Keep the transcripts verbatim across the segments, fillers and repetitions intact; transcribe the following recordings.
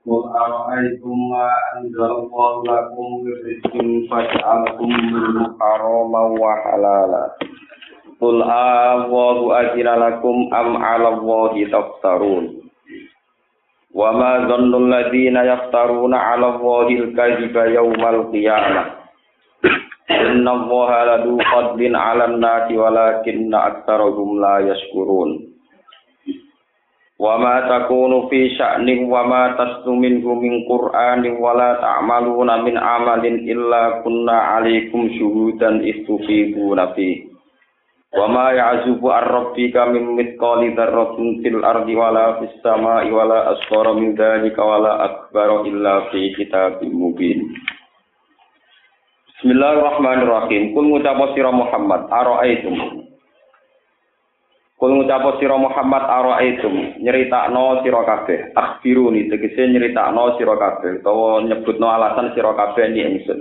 Qul ara'aytum ma anzalallahu lakum min rizqin faj'altum minhu haraman wa halala. Qul Allahu azina lakum am 'ala Allahi taftarun. Wa ma dhannul ladzina yaftaruna 'ala Allahi al-kadhiba yawmal qiyamah. Inna Allaha ladu fadlin 'alan nasi walakinna aktsarahum la yashkurun. Wa ma takunu fi sya'nin wa ma taslu minhu min qur'anin wa la ta'maluna min amalin illa kunna 'alaikum syuhudan istufiduna fi wa ma ya'zubu ar-rabbika min mithqali dzarratin fil ardi wa la fis sama'i wa la asghara min dzalika wa la akbara illa fi kitabim mubin. Bismillahirrahmanirrahim. Kul ngucap sira Muhammad ara'aitum Kul ngucap sira Muhammad ara'aitum nyeritakno sira kabeh akhbiruni tegese nyeritakno sira kabeh utawa nyebutno alasan sira kabeh ni ingsun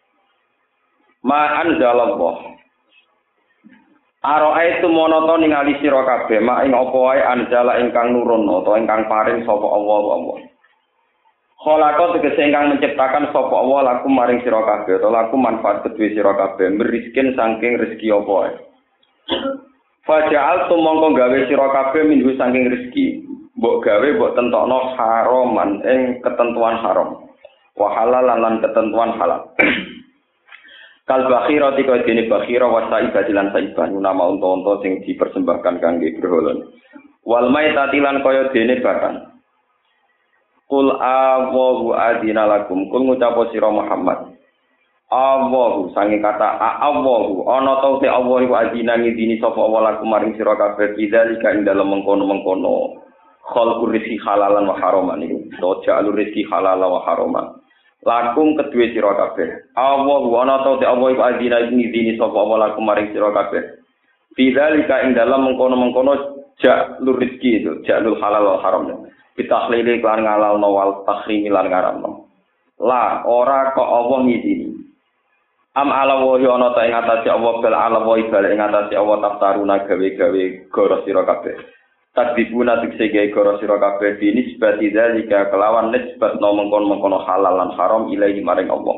ma anzalallah ara'aitum monoto ningali sira kabeh mak ing apa wae anzala ingkang nurun utawa ingkang paring sapa Allah Allah khalaqa tegese ingkang menciptakan sapa Allah lakum maring sira kabeh utawa lakum manfaat kedue sira kabeh meriskin saking rezeki apa wae Faja'al tumangka gawe sira kabeh minggu saking rezeki. Mbok gawe mbok tentokno haraman ing ketentuan haram. Wa halalan lan ketentuan halal. Kal bakhira tika dene bakhira wa saibah lan saibah nama unta-unta sing dipersembahkan kangge berhala. Wal maitati lan kaya dene bakan. Qul Allahu adzina lakum. Kul ngucap sira Muhammad Allahu sange kata Allahu ana ta te Allah iku azina ngidini sapa Allah lakum maring sira kabeh bidzalika ing dalem mengkono-mengkono khalqur rizqi halalan wa haraman iku to jalur rezeki halal wa haraman lakum kedue sira kabeh Allahu ana ta te Allah iku azina ngidini sapa Allah lakum maring sira kabeh bidzalika ing dalem mengkono-mengkono jalur rezeki itu jalur halal wa haram bitahlili kan ngalalno wal tahrimi lan ngaramno la ora kok Allah ngidini Am ala wa ana ta ing atase Allah bal ala wa bal ing atase Allah taftaruna gawe-gawe goro sira kabeh. Takdibuna tikse gawe goro sira kabeh binisbati dzalika kelawan nisbat no mengkon-mengkono halal lan haram ilahi maring Allah.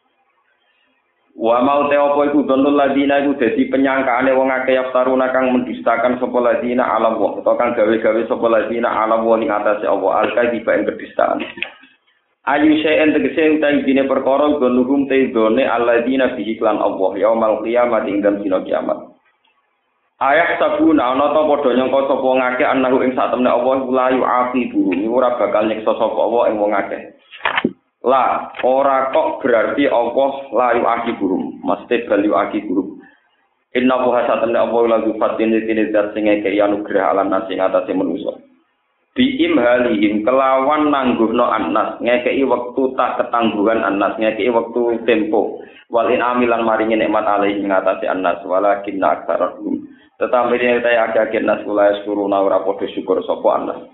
Wa mau te apa iku donul ladina iku dadi penyangkaane wong akeh yaftaruna kang mendustakan sapa ladina ala wa utawa kang gawe-gawe sapa ladina ala wa ing atase Allah al-kadhiba ing kedustaan. Ayu syai'en tegese utawi dine perkara gonuhum te done alladzina bihi lan Allah yaumul qiyamah ing dalem dina kiamat. Ayat sabuna ana ta padha nyangka sapa ngake anahu ing satemene Allah la yu'aqibu ora bakal nyiksa sapa Allah ing wong akeh. La ora kok berarti Allah la yu'aqibu mesti bal yu'aqibu. Inna wa satemene Allah la yufatin dene zat sing ngeke anugrah alam nasi ngatasi manusa. Biim halihim kelawan nangguhno annas ngekei wektu tak ketangguhan annas ngekei wektu tempo walin amilan maringi nikmat alaihi ngatasi annas walakinna aktsarahum tetapi yen ta akeh nas kula suruna ora padha syukur sapa annas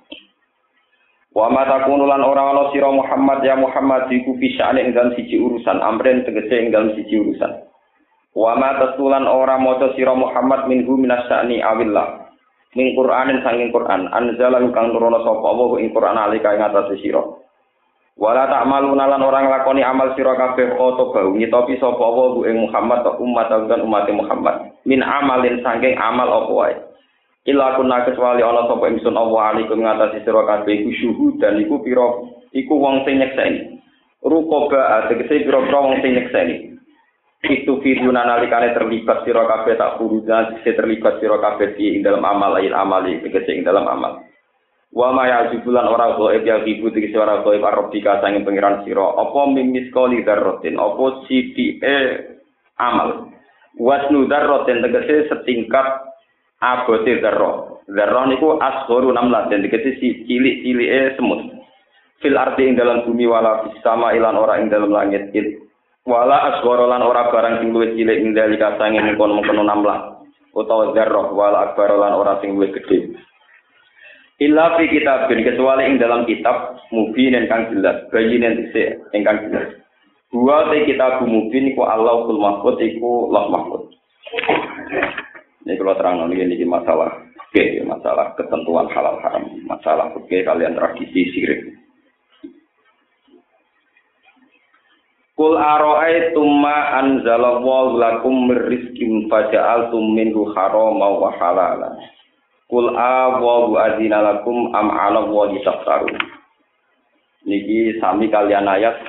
wa ma takunu lan ora ana sira Muhammad ya Muhammad iku pisane ing dalem siji urusan amren tegese ing dalem siji urusan wa ma tasulan ora maca sira Muhammad minhu minasyani awillah min Qur'anin sanging Qur'an anzala kang nurono sapa Allah ing Qur'an alika ing atase sira wala ta'maluna lan orang lakoni amal sira kabeh oto bau nyitopi sapa Allah ing Muhammad umat lan umat Muhammad min amalin sanging amal apa wae illa kunna kecuali ana sapa ingsun Allah alaikum ing atase sira kabeh iku syuhud dan iku pira iku wong sing nyekseni ruqaba tegese pira-pira wong sing nyekseni itu firuna nalikane terlibat sira kabeh tak furuza sing terlibat sira kabeh ing dalam amal lain amali tegese ing dalam amal wa ma yajibulan ora goib ya ibu tegese ora goib arabika sanging pangeran sira apa mimis kali dzarratin apa sithike amal wasnu dzarratin tegese setingkat abote dzarrah dzarrah niku asgharu namlatin tegese cilik-cilike semut fil ardi ing dalam bumi wala fis sama ilan ora ing dalam langit wala asghara lan ora barang sing luwih cilik ing dalika sanging mengkon-mengkon namlah utawa zarrah wala akbar lan ora sing luwih gedhe illa fi kitabin kecuali ing dalam kitab mubin ingkang jelas bayinen dhisik ingkang jelas Dua te kitab mubin iku Allahul Mahfuz iku Lauh Mahfuz. Ini kalau terang ini ini masalah oke, masalah ketentuan halal haram, masalah oke kalian tradisi sirik. Kul ara'aytum ma anzalallahu lakum mir rizqin faja'altum minhu haraman wa halalan. Kul awahu azina lakum am 'ala Allahi taftarun. Niki sami kalian ayat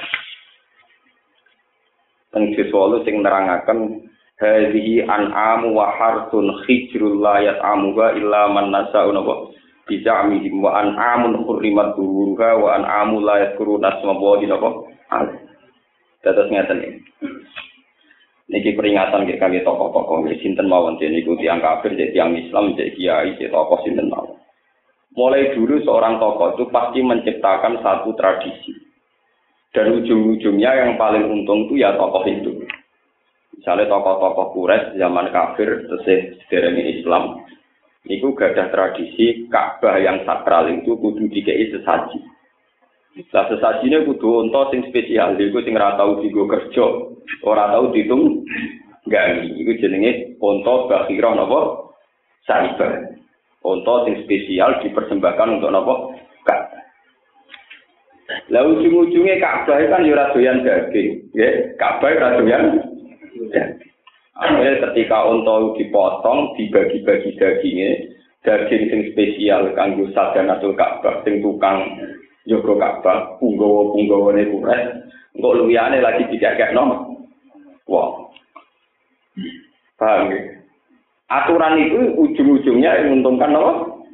teng sesolo sing nerangaken hadhihi an'amu wa harsun khijrul la yat'amuha illa man nasa'u nawa bija'mihim wa an'amun hurrimat duruha wa an'amu la yadhkuruna asmallahi nawa. Dados ngeten iki. Niki peringatan nggih kangge tokoh-tokoh nggih sinten mawon niku tiyang kafir, tiyang Islam, kiai, tokoh sinten mawon. Mulai dulu seorang tokoh itu pasti menciptakan satu tradisi. Dan ujung-ujungnya yang paling untung itu ya tokoh itu. Misalnya tokoh-tokoh Quraisy zaman kafir tesih sederenge Islam, niku gadah tradisi Ka'bah yang sakral itu kudu dikei sesaji. Lah sesajine kudu unta sing spesial, iku sing ora tau dienggo kerja, ora tau ditung gawe. Iku jenenge unta bakhirah napa? Saibah. Unta sing spesial dipersembahkan untuk napa? Ka'bah. Lah ujung-ujunge Ka'bah kan ya ora doyan daging, nggih. Ka'bah ora doyan. Akhirnya ketika unta dipotong, dibagi-bagi dagingnya, daging sing spesial kanggo sadanatul Ka'bah, sing tukang Joko Ka'bah, punggawa-punggawane Quraisy, engko liyane lagi dikekekno. Wah. Paham ya? Aturan itu ujung-ujungnya yang menguntungkan apa?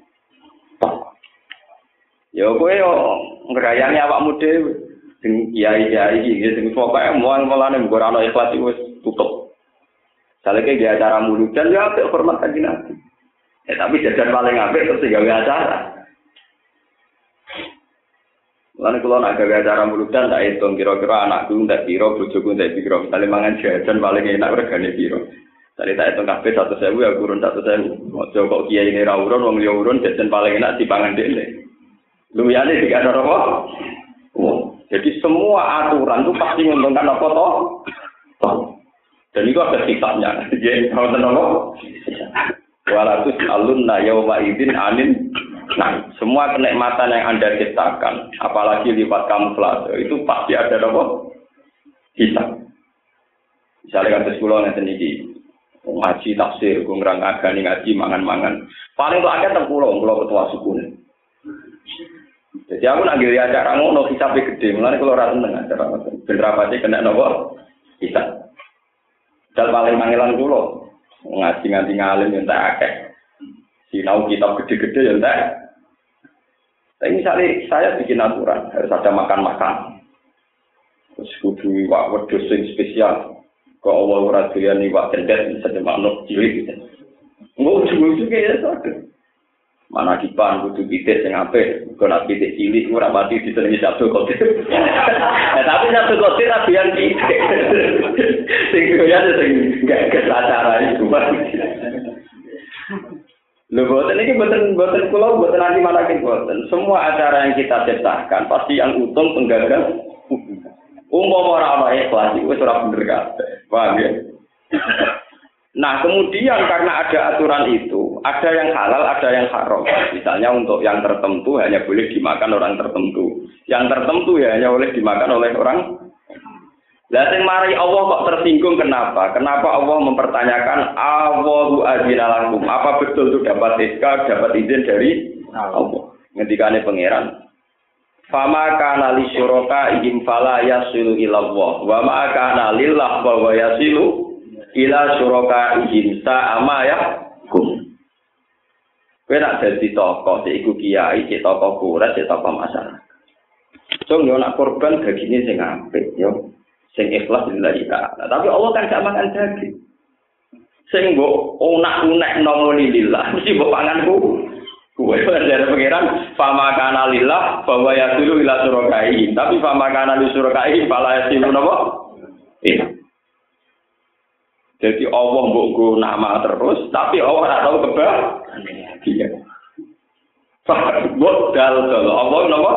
Ya kowe yo ngrayani awakmu dhewe. Sing kiai-kiai iki sing pokoke mual-mulane mbok ora ono ikhlas iku wis tutup. Saleke ge acara muludan ya apik hormat kanjeng Nabi. Eh tapi jajan paling apik terus gawe acara. Lan kula nak gawe acara muludan tak hitung kira-kira anakku ndak pira, bojoku ndak pira. Misale mangan jajan paling enak regane pira. Tadi tak hitung kabeh seratus ribu ya kurun seratus ribu. Aja kok kiai ini ra urun wong liya urun jajan paling enak dipangan dhewe. Lumiyane dikasih apa? Oh, jadi semua aturan itu pasti menguntungkan apa toh? Dan itu ada kitabnya. Jadi kalau tenang, walatus alunna yauma idzin anin. Nah, semua kenikmatan yang Anda ciptakan, apalagi lipat kamuflase, itu pasti ada apa? Hisab. Misalnya kata sekolah nanti ini ngaji tafsir, gungrang agani ngaji mangan-mangan. Paling itu ada tentang pulau, pulau ketua suku. Jadi aku nak giri acara ngono hisabnya gede, mulanya kalau rata dengan acara bener apa sih kena nopo hisab. Dan paling panggilan pulau ngaji ngaji ngalim yang tak akeh. Sinau kitab gede-gede yang tak. Tapi misalnya saya bikin aturan harus ada makan-makan. Terus kudu iwak wedhus sing spesial. Kok Allah ora doyan iwak cendet bisa manuk cilik. Engko ujug-ujug ya sadar. Mana kipan kudu pitik sing apik, kok nak pitik cilik ora mati disenengi Sabtu Qadir. Eh tapi Sabtu Qadir ra doyan pitik. Sing doyan sing gak kesacara itu. Lho boten iki boten boten kula boten nanti malakin boten. Semua acara yang kita ciptakan pasti yang untung penggagas. Umpama ora ana ikhlas iku wis ora bener kabeh. Paham ya? Nah, kemudian karena ada aturan itu, ada yang halal, ada yang haram. Misalnya untuk yang tertentu hanya boleh dimakan orang tertentu. Yang tertentu ya hanya boleh dimakan oleh orang. Lah sing mari Allah kok tersinggung kenapa? Kenapa Allah mempertanyakan Allahu azina lakum? Apa betul itu dapat S K, dapat izin dari Allah? Ngendikane pangeran. Fama kana li syuraka ihim fala yasilu ila Allah. Wa ma kana lillah wa yasilu ila syuraka ihim sa'ama ya kum. Kowe nak dadi tokoh, iku kiai, cek tokoh kurat, cek tokoh masyarakat. So yo nak korban dagingnya sing apik yo. Sing ikhlas lillahi ta'ala. Tapi Allah kan gak makan daging. Sing mbok unak-unek nomoni lillah, mesti mbok panganku. Kuwe dari pengiran fama kana lillah bahwa yasilu ila syurakai. Tapi fama kana li syurakai fala yasilu napa? Iya. Jadi Allah mbok go nama terus, tapi Allah ora tahu kebah. Iya. Mbok dal dal Allah napa?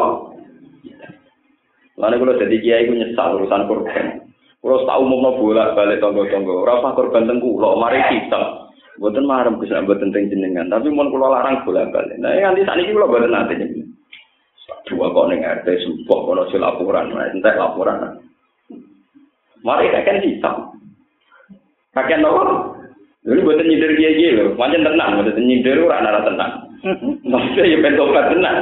Lalu kalau jadi kiai itu nyesal urusan korban. Kalau tak umumnya bolak balik tonggo-tonggo, rasa korban tengku, lo mari kita. Bukan marem bisa buat tentang jenengan, tapi mau kalau larang bolak balik. Nah nanti saat ini kalau buatan nanti nih. Dua kau neng R T sumpah kalau si laporan, nah entek laporan. Mari kakek hitam. Kakek nopo? Dulu buat nyindir dia gitu, macam tenang, buat nyindir orang nara tenang. Maksudnya ya pentobat tenang.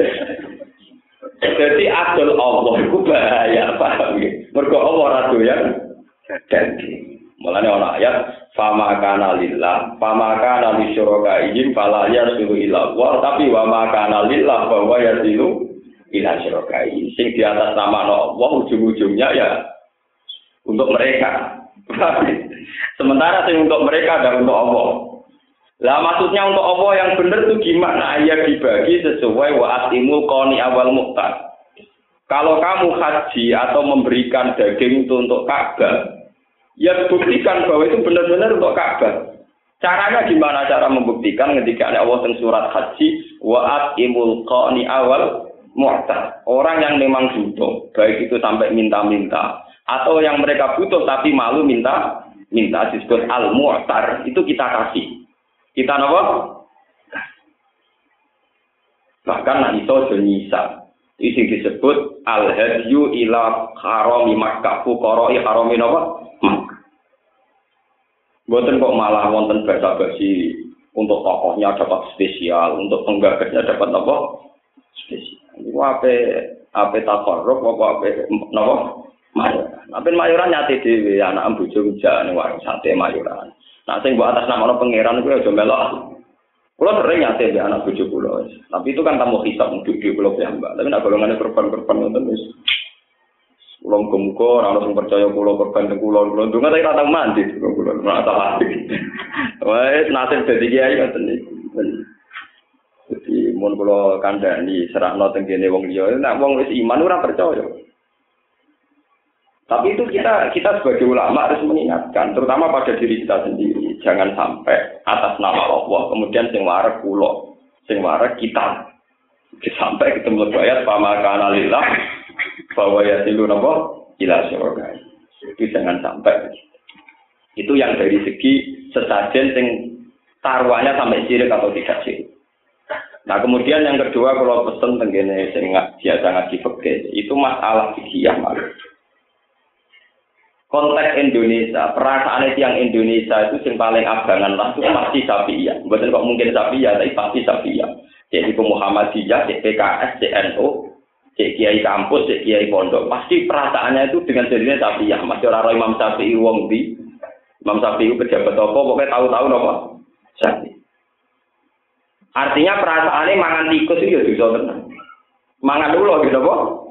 Jadi adol Allah itu bahaya, paham ya? Mergo Allah ratu ya. Jadi, mulanya orang ayat, fama kana lillah, fama kana li syurakaihim fala yasilu ila Allah, tapi wa ma kana lillah bahwa yasilu ila syurakaihim. Sing di atas nama Allah ujung-ujungnya ya untuk mereka. Sementara sing untuk mereka dan untuk Allah. Lah maksudnya untuk Allah yang benar itu gimana? Ya dibagi sesuai wa atimul qani awal muqtar. Kalau kamu haji atau memberikan daging itu untuk Ka'bah, ya buktikan bahwa itu benar-benar untuk Ka'bah. Caranya gimana cara membuktikan ketika ada Allah teng surat haji wa atimul qani awal muqtar. Orang yang memang butuh, baik itu sampai minta-minta atau yang mereka butuh tapi malu minta minta disebut al-mu'tar, itu kita kasih. Kita apa? Bahkan nak iso jenisa. Itu disebut al-hadyu ila harami Makkah, fuqara'i harami apa? Makkah. Mboten kok malah wonten basa-basi untuk tokohnya dapat spesial, untuk penggagasnya dapat apa? Spesial. Iku ape ape takarruf apa ape napa? Mayoran. Tapi mayoran nyate dhewe anak bojo ujane warung sate mayoran. Nah sing mbok atas nama pangeran kuwi aja melok. Kula sering nyate mbek anak bojo kula. Tapi itu kan tamu hisab duduk kula piyambak. Tapi nek golongane korban-korban ngoten wis kula muga-muga ora ono sing percaya kula korban teng kula. Kula ndonga tak tau mandi kula ora tau mandi. Wes nasib dadi kiai ngoten niku. Jadi mun kula kandhani serahno teng kene wong liya, nek wong wis iman ora percaya. Tapi itu kita kita sebagai ulama harus mengingatkan, terutama pada diri kita sendiri, jangan sampai atas nama Allah kemudian sing warek kula, sing warek kita. Sampai ketemu ayat pama kana lillah bahwa yasilu napa ila syurga. Itu jangan sampai. Itu yang dari segi sesajen sing taruhannya sampai sirik atau tidak sirik. Nah kemudian yang kedua kalau pesen tenggene sing biasa ngaji fikih, itu masalah fikih malah. Konteks Indonesia, perasaan yang Indonesia itu yang paling abangan lah itu pasti Syafi'iyah. Bukan kok mungkin Syafi'iyah, tapi pasti Syafi'iyah. Jadi ke Muhammadiyah, C P K S, C N O, C Kiai kampus, C Kiai pondok. Pasti perasaannya itu dengan jadinya Syafi'iyah. Masih orang Imam Syafi'i wong di Imam Syafi'i pejabat apa, pokoknya tahu-tahu apa? Syafi'i. Artinya perasaannya mangan tikus itu ya bisa tenang. Mangan dulu gitu apa?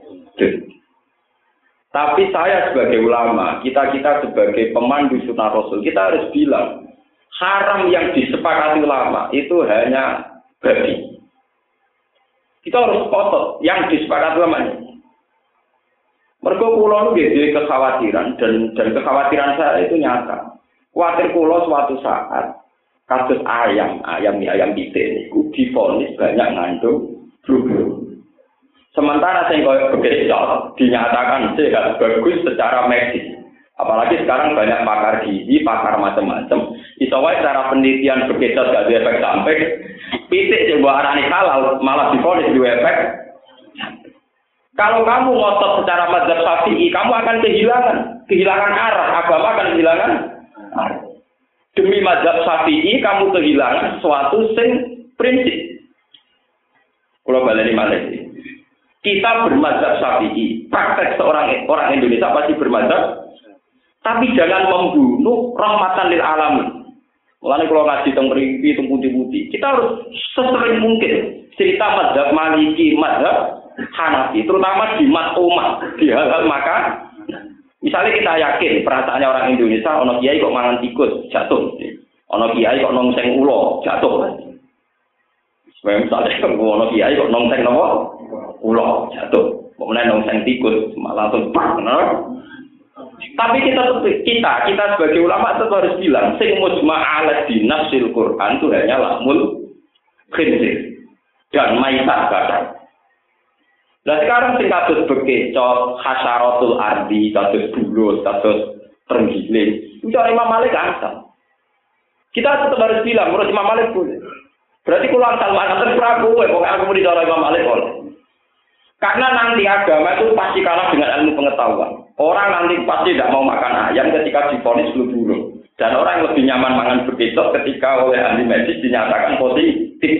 Tapi saya sebagai ulama, kita-kita sebagai pemandu sunnah Rasul, kita harus bilang, haram yang disepakati ulama itu hanya babi. Kita harus kotor yang disepakati ulama ini. Mergo kula nggih kekhawatiran dan dan kekhawatiran saya itu nyata. Kuwatir kula suatu saat kasus ayam, ayam ayam pitik niku divonis banyak ngandung flu. Sementara sing koyo bekecot dinyatakan sehat bagus secara medis. Apalagi sekarang banyak pakar gizi, pakar macam-macam. Iso wae cara penelitian bekecot gak ada efek samping. Pitik sing mbok arani halal malah divonis duwe efek. Kalau kamu ngotot secara mazhab Syafi'i, kamu akan kehilangan, kehilangan arah, agama akan kehilangan arah. Demi mazhab Syafi'i kamu kehilangan sesuatu sing prinsip. Kalau baleni malih. Kita bermazhab Syafi'i, praktek seorang orang Indonesia pasti bermazhab, tapi jangan membunuh rahmatan lil alamin. Mulane kalau ngaji teng mriki teng putih-putih, kita harus sesering mungkin cerita mazhab Maliki, mazhab Hanafi, terutama di mat'umah, di hal-hal makan. Misalnya kita yakin perasaannya orang Indonesia, ono kiai kok mangan tikus jatuh, ono kiai kok nongseng ulo jatuh. Misalnya ono kiai kok nongseng nopo? Ulo jatuh, kemudian nongseng tikus malah langsung pak, no? Tapi kita kita kita sebagai ulama tetap harus bilang, sing mujma' ala dinasil Quran itu hanya lahmul khinzir dan maitat badan. Nah sekarang sing kados bekecot, hasyaratul ardi, kados bulus, kados terenggiling, itu Imam Malik asal. Kita tetap harus bilang, menurut Imam Malik boleh. Berarti kalau asal mangan Prabu, pokoknya aku mau dicara Imam Malik boleh. Karena nanti agama itu pasti kalah dengan ilmu pengetahuan. Orang nanti pasti tidak mau makan ayam ketika divonis flu burung. Dan orang yang lebih nyaman makan bekicot ketika oleh ahli medis dinyatakan positif.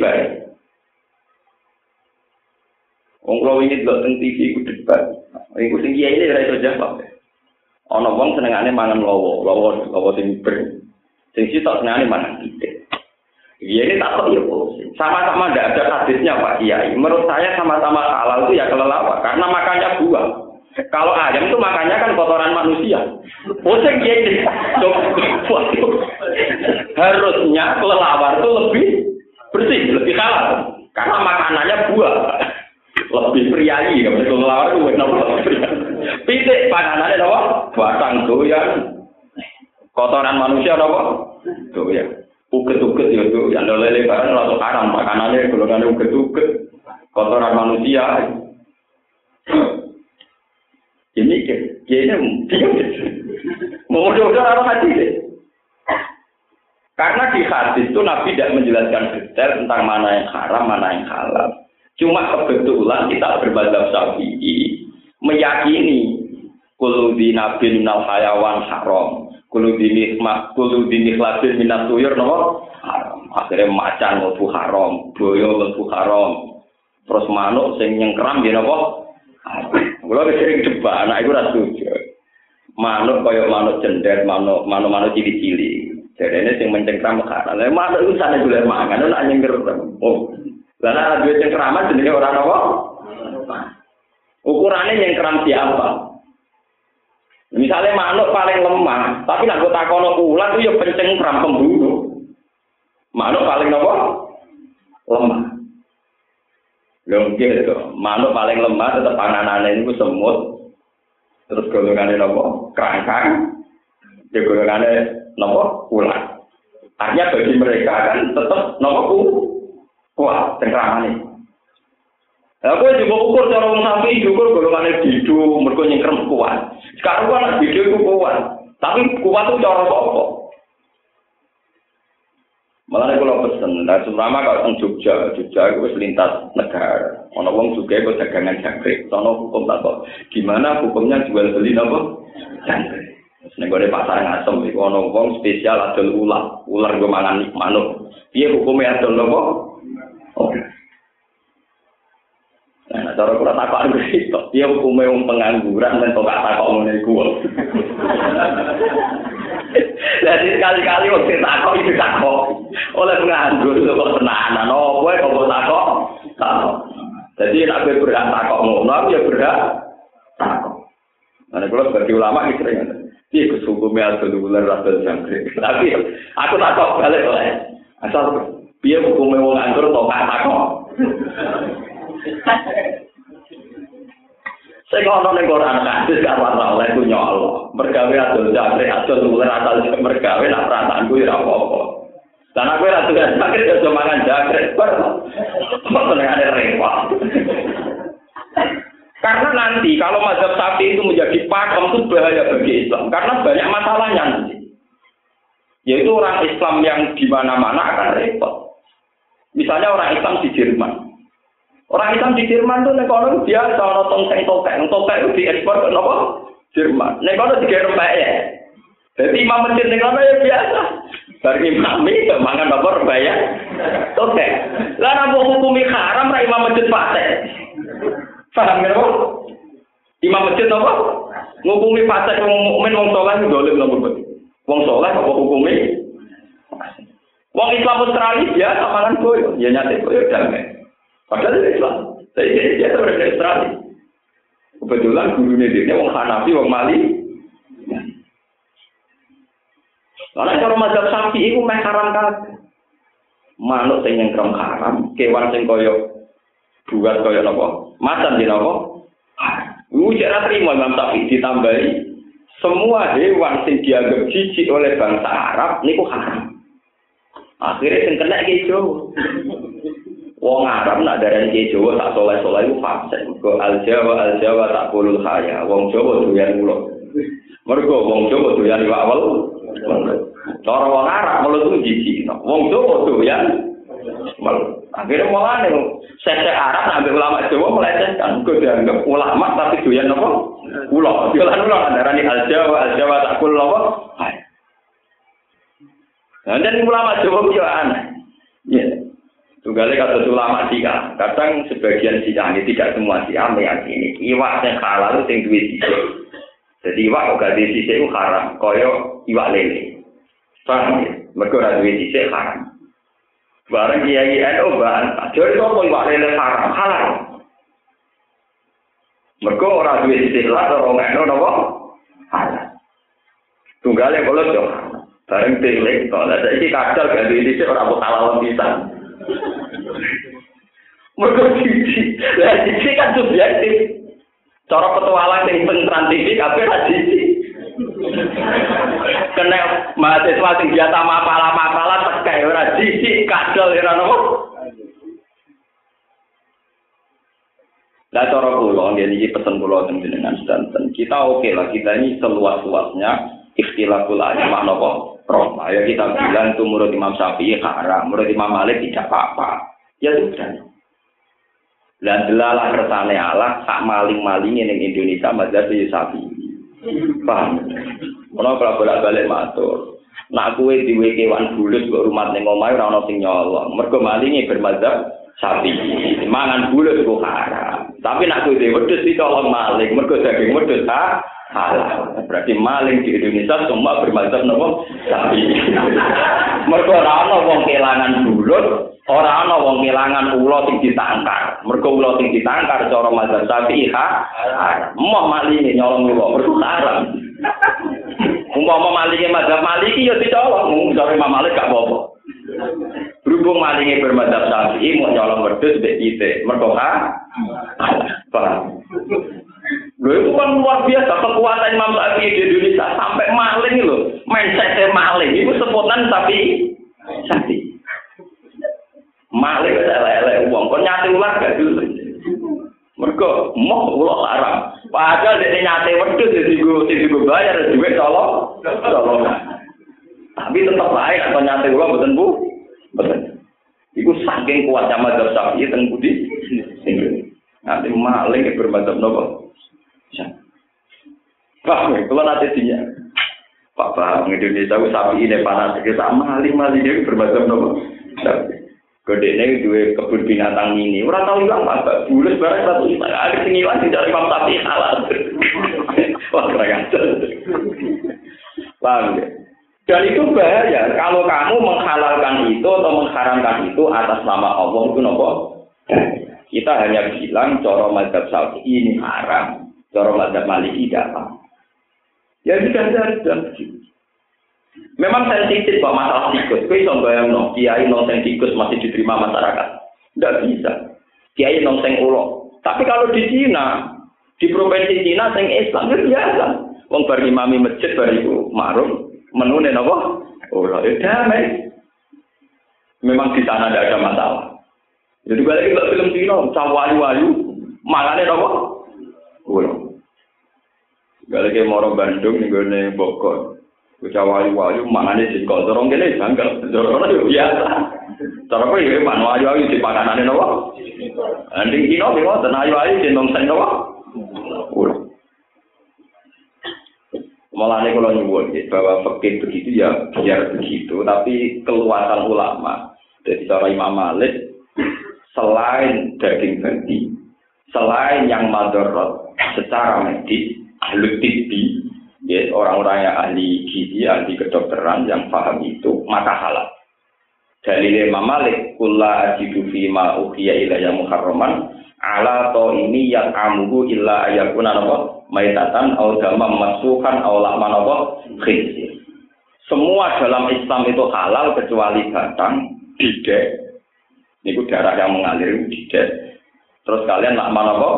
Wong kalau ini delok teng T V iku debat. Iku sing kiai ini ora iso jawab. Ana wong senengane mangan lowo, lowo lowo sing ber. Sing sitok senengane mangan titik. Iya ini tak tahu ya, sama-sama tidak ada hadisnya Pak Kiai. Menurut saya sama-sama halal itu ya kelelawar karena makannya buah. Kalau ayam itu makannya kan kotoran manusia. Pusing ya ini. Harusnya kelelawar itu lebih bersih, lebih halal karena makanannya buah. Lebih priayi, kalau kelelawar itu lebih priayi. Pitik panganannya apa? Batang doyan. Kotoran manusia apa? Doyan. Uget-uget ya itu, yang lele barang langsung haram, makanannya golongannya uget-uget, kotoran manusia. Ini, ya ini, mau mudah-mudahan orang hadis deh. Karena di hadis itu Nabi tidak menjelaskan detail tentang mana yang haram, mana yang halal. Cuma kebetulan kita berbazab Syafi'i meyakini kullu dinabi minal hayawan haram. Kulo dini mak kulo dini klasin minat tuyur nopo haram. Akhirnya macan lebu haram, boyo lebu haram. Terus manuk sing nyengkram ya nopo. Kulo sering debat, anak iku ora setuju. Manuk kaya manuk cendet, manuk manuk-manuk cili-cili. Jadene sing mencengkram haram. Lah manuk iku sane dolen mangan nek nyengker. Oh. Lah nek duwe cengkraman jenenge ora nopo. Ukurane nyengkram siapa? Misalnya manuk paling lemah, tapi nak kota kono ular itu ya pencengkram pembunuh. Manuk paling apa? Lemah. Longge itu, manuk paling lemah tetap panganannya itu semut. Terus golongannya apa? Kerangkang. Ya golongannya apa? Ular. Artinya bagi mereka kan tetap apa? Kuat cengkramannya. Aku juga ukur cara wong sampai ukur golongannya bidu, mereka nyengkrem kuat. Sekarang kan bidu itu kuat, tapi kuat itu cara apa? Malah kalau pesen, nah terutama kalau teng Jogja, Jogja itu lintas negara. Ono wong juga itu dagangan jangkrik, sono hukum tak kok. Gimana hukumnya jual beli apa? Jangkrik. Nek gore pasar ngasem iku ono wong spesial adol ular, ular go mangan manuk. Piye hukumnya adol apa? Oh. Nah, cara kula takok iki, dia hukume wong pengangguran men kok takok ngene iku. Jadi sekali-kali wong takok iki takok. Oleh penganggur kok tenanan opo kok takok? Takok. Jadi nek kowe berhak takok ngono, ya berhak takok. Nah, kula sebagai ulama iki sering ngene. Iki hukume adol ular adol jangkrik. Tapi aku takok balik oleh. Asal piye hukume wong nganggur kok takok? Saya kalau ning Quran hadis gak ora oleh ku nyolo. Mergawe adol jangkrik adol ular asal mergawe nak perasaanku ya apa-apa. Dan aku ora tugas sakit aja mangan jangkrik bar. Kok senengane repot. Karena nanti kalau mazhab Syafi'i itu menjadi pakem itu bahaya bagi Islam karena banyak masalahnya nanti. Yaitu orang Islam yang di mana-mana akan repot. Misalnya orang Islam di Jerman. Orang Islam di Jerman itu nek kono biasa ana tongseng tokek, tokek itu diekspor ke napa? Jerman. Nek kono digawe rempah ya. Jadi imam masjid nek kono ya biasa. Bar imam iki mangan apa rempah ya? Tokek. Lah nek hukumi haram ra imam masjid fasik. Paham ya, Pak? Imam masjid apa? Ngukumi fasik wong mukmin wong saleh dolim napa? Wong saleh apa hukumi? Wong Islam Australia biasa mangan boyo, ya nyate boyo damai. Padahal itu Islam. Jadi dia orang Australia. Kebetulan gurunya dia orang Hanafi, orang Mali. Karena kalau mazhab Syafi'i itu meh haram kabeh. Manuk sing nyengkrem haram, kewan sing koyo buat koyo napa? Macan di napa? Iku ora trimo Imam Syafi'i ditambahi semua hewan sing dianggap jijik oleh bangsa Arab niku haram. Akhirnya sing kena iki Jawa. Wong Arab nak darani ki Jawa tak soleh-soleh iku fasik. Mergo al-Jawa al-Jawa tak kulul khaya. Wong Jawa doyan mulo. Mergo wong Jawa doyan iwak wel. Cara wong Arab mulo ku jiji. Wong Jawa doyan wel. Akhire mulane Sesek Arab sampai ulama Jawa melecehkan, gue dianggap ulama tapi doyan apa? Ulo, doyan ulo darani al Jawa, al Jawa takul apa? Nah, dan ulama Jawa itu aneh. Ya, tunggalnya kata ulama Syiah, kadang sebagian Syiah ini tidak semua Syiah meyakini iwak yang halal itu yang duit sisik. Jadi iwak kalau duit sisik itu haram, koyo iwak lele. Paham ya? Mereka ora duit sisik haram. Barang kiai N U bahan, jadi apa iwak lele haram halal. Mereka orang duit sisik lah, orang N U apa? Halal. Tunggalnya kalau jauh, barang tilik, kalau ada ini kadal gak duit sisik orang buat halal bisa. Mereka sisi, lah sisi kan subjektif. Cara petualang yang pentransisi, apa sisi? Kena mahasiswa sing biasa mapalah-mapalah tekai ora sisi kadal ora nopo. Lah cara kula nggih iki pesen kula teng jenengan sedanten. Kita oke lah kita ini seluas-luasnya ikhtilaful ulama napa? Roma. Ya kita bilang itu menurut Imam Syafi'i haram, menurut Imam Malik tidak apa-apa. Ya sudah. Lah delalah kersane Allah sak maling-malinge ning Indonesia mazhab Syafi'i. Paham? Ono kalau bolak-balik matur. Nak kowe diwe kewan bulut kok rumah ning omahe ora ono sing nyolong. Mergo malinge bermadzhab Syafi'i. Mangan bulut kok haram. Tapi nak kowe dhewe wedhus ditolong maling, mergo daging wedhus ha halal. Berarti maling di Indonesia semua bermadzhab napa? Syafi'i. Mergo ora ono wong kelangan bulut, ora ono wong kelangan ula sing ditangkar. Mergo ula sing ditangkar cara mazhab Syafi'i ha haram. Moh malinge nyolong ula, mergo haram. Umpama malinge mazhab Maliki ya dicolong, mung sore Imam Malik gak apa-apa. Berhubung malinge bermadzhab Syafi'i mau nyolong wedhus mbek kite, mergo ha. Paham. Lho itu kan luar biasa kekuatan Imam Syafi'i di Indonesia sampai maling lho, mindset maling itu sebutan Syafi'i. Syafi'i. Maling elek-elek wong kon nyate ular gak dulu. Mergo moh ulah haram. Padahal dene nyate wedhus sing digo sing digo bayar duit tolong. Tolong. Tapi tetap baik atau nyate ulah mboten Bu. Mboten. Iku saking kuatnya mazhab Syafi'i teng budi. Nanti maling ke bermadzhab napa? Pak, kalau nanti dia Pak Bang Indonesia ku Syafi'i ne panas iki sak maling-maling iki bermadzhab napa? Kodene duwe kebun binatang ini. Ora tau ilang Pak. Bulus barang satu juta. Ada sing ilang tidak Imam Syafi'i halal. Wah, keren. Paham ya? Dan itu bahaya. Kalau kamu menghalalkan itu atau mengharamkan itu atas nama Allah itu nopo? Kita hanya bilang cara mazhab Syafi'i ini haram. Cara mazhab Maliki tidak apa. Ya sudah dan memang sensitif Pak masalah tikus. Kowe iso bayangno kiai nonteng tikus masih diterima masyarakat? Tidak bisa. Kiai nonteng ulo. Tapi kalau di Cina, di provinsi Cina sing Islam itu biasa. Wong bar imami masjid bar iku ma'ruf menune napa? Ulo itu damai. Memang di sana tidak ada masalah. Jadi balik ke film Cina, cawayu-wayu, mangane napa? Ulo. Balik ke Moro Bandung ning gone Bogor. Cawayu-wayu mangane singkok dorong kene janggal. Dorong yo biasa. Cara kowe iki manu ayu-ayu di pakanane napa? Anding Cina mewa ten ayu-ayu cenong sen napa? Ulo. Malah ini kalau nyebut bahwa fakir begitu ya biar begitu, tapi keluasan ulama dari cara Imam Malik selain daging babi, selain yang madarat secara medis, ahli tibbi, ya, orang-orang yang ahli gizi, ahli kedokteran yang paham itu maka halal. Dalil Imam Malik, kulla ajidu fi ma uhiya ilayya muharraman ala to ini yang amuhu illa ayakuna napa maitatan au damam masukan au lahman apa khinzir. Semua dalam Islam itu halal kecuali batang, didek. Niku darah yang mengalir didek. Terus kalian lahman apa?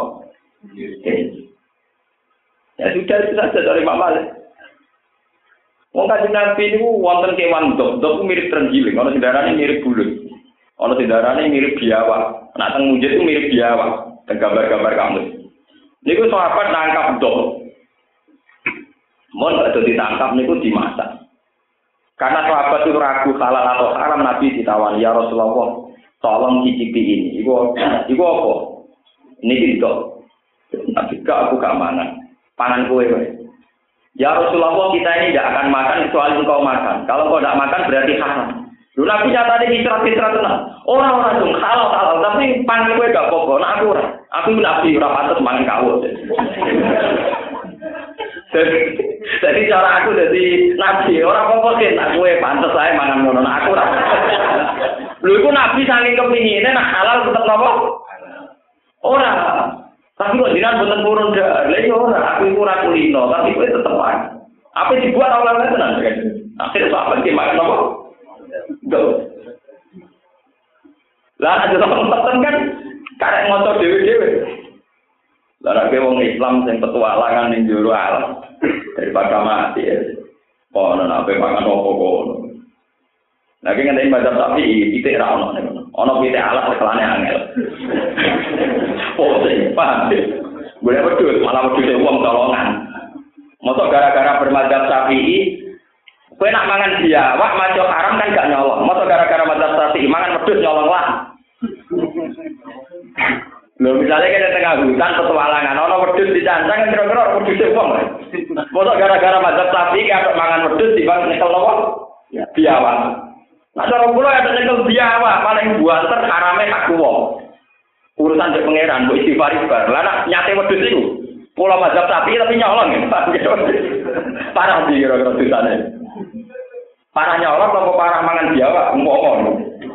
Ya sudah itu saja dari Imam Malik. Wong Kanjeng Nabi niku wonten kewan dok, dok mirip terenggiling, ana sendarane mirip bulut. Ana sendarane mirip biawak. Nah teng mujid itu mirip biawak. Teng gambar-gambar kamu. Niku sahabat nangkap dok. Mun ada ditangkap niku dimasak. Karena sahabat itu ragu halal atau haram, Nabi ditawani, ya Rasulullah, tolong cicipi ini. Iku iku apa? Niki itu. Tapi aku gak mangan. Pangan kue weh. Ya Rasulullah, kita ini tidak akan makan kecuali engkau makan. Kalau engkau tidak makan berarti haram. Lu Nabi nyata ini istirahat-istirahat tenang. Orang-orang dong halal-halal, tapi pangan kue gak pokok. Nah aku ora. Aku Nabi ora pantes mangan kawul. Jadi, jadi cara aku jadi Nabi, orang pokok sih nak kue pantes saya mangan ngono. Nah aku ora. Lu iku Nabi saking kepingine nak halal tetep napa? Ora. Tapi kok jinan boten purun dah. Lah yo ora, aku iku ora kulino, tapi kowe tetep wae. Apa dibuat awalnya tenan kan? Akhirnya apa ki makan apa? Duh. Lah aja temen kan karek ngoco dhewe-dhewe. Lah nek wong Islam sing petualangan ning jero alam daripada mati ya. Ono nek makan apa kono. Nah, ki ngene baca tapi pitik ra ono nek. Ono pitik alat kelane angel. Oh, paham. Boleh betul, malah betul uang tolongan. Mosok gara-gara bermadzhab Syafi'i, kowe nak mangan biawak maca haram kan gak nyolong. Mosok gara-gara madzhab Syafi'i mangan wedhus nyolong lah. Lho misalnya kita tengah hutan petualangan, ono wedhus dicancang kira-kira wedhus wong. Mosok gara-gara madzhab Syafi'i kaya mangan wedhus dibang nyekel apa? Biawak. Nah, cara kula ada nyekel biawak paling buanter harame hak wong. Urusan cek pangeran, bu istighfar istighfar. Lah nak nyate wedhus iku. Kula mazhab sapi tapi nyolong ya. Parah di kira-kira dosane. Parah nyolong apa parah mangan biawak ngomong.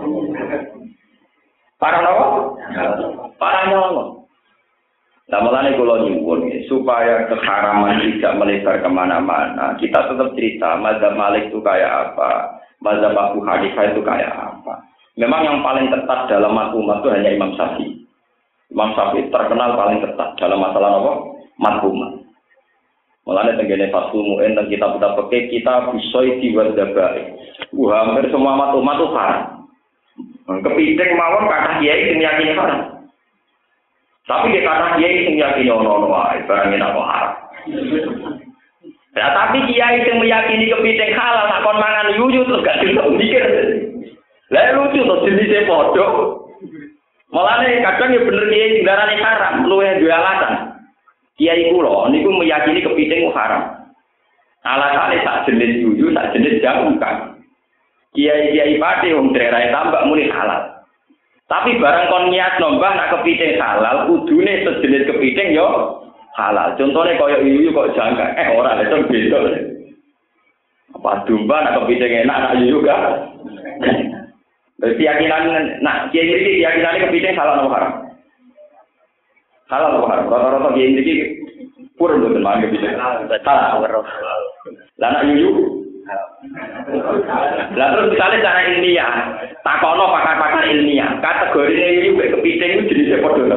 Parah napa? Parah nyolong. Lah mulane kula nyuwun supaya keharaman tidak melebar kemana-mana. Kita tetap cerita mazhab Malik itu kayak apa, mazhab Abu Hanifah itu kayak apa. Memang yang paling ketat dalam maklumat itu hanya Imam Syafi'i. Imam Syafi'i terkenal paling ketat dalam masalah apa? Maklumat. Mulane tenggene Fathul Mu'in dan kitab-kitab fikih kita bisoi diwadabai. Wah, hampir semua maklumat itu haram. Kepiting mawon kata kiai sing yakini haram. Tapi dia kata kiai sing yakini ono-ono wae, barang enak kok haram. Ya tapi kiai sing meyakini kepiting halal tak kon mangan yuyu terus gak bisa mikir. Lah lucu to jenise padha. Mulane kadang ya bener kiai ndarane haram, luwih duwe alasan. Kiai kula niku meyakini kepiting haram. Alasane sak jenis yuyu, sak jenis jamu kan. Kiai-kiai pati wong daerah tambak muni halal. Tapi barang kon niat nombah nak kepiting halal, kudune sejenis kepiting yo halal. Contohnya kaya yuyu kok jangka, eh ora itu beda. Apa domba nak kepiting enak nak yuyu gak? Keyakinan, nah kiai ini keyakinannya kepiting halal atau haram? Halal atau haram? Rata-rata kiai ini purun betul mana kepiting? Halal. Lah nak yuyu? Lah terus misalnya cara ilmiah, takono pakar-pakar ilmiah, kategorinya yuyu kepiting itu jenisnya podo.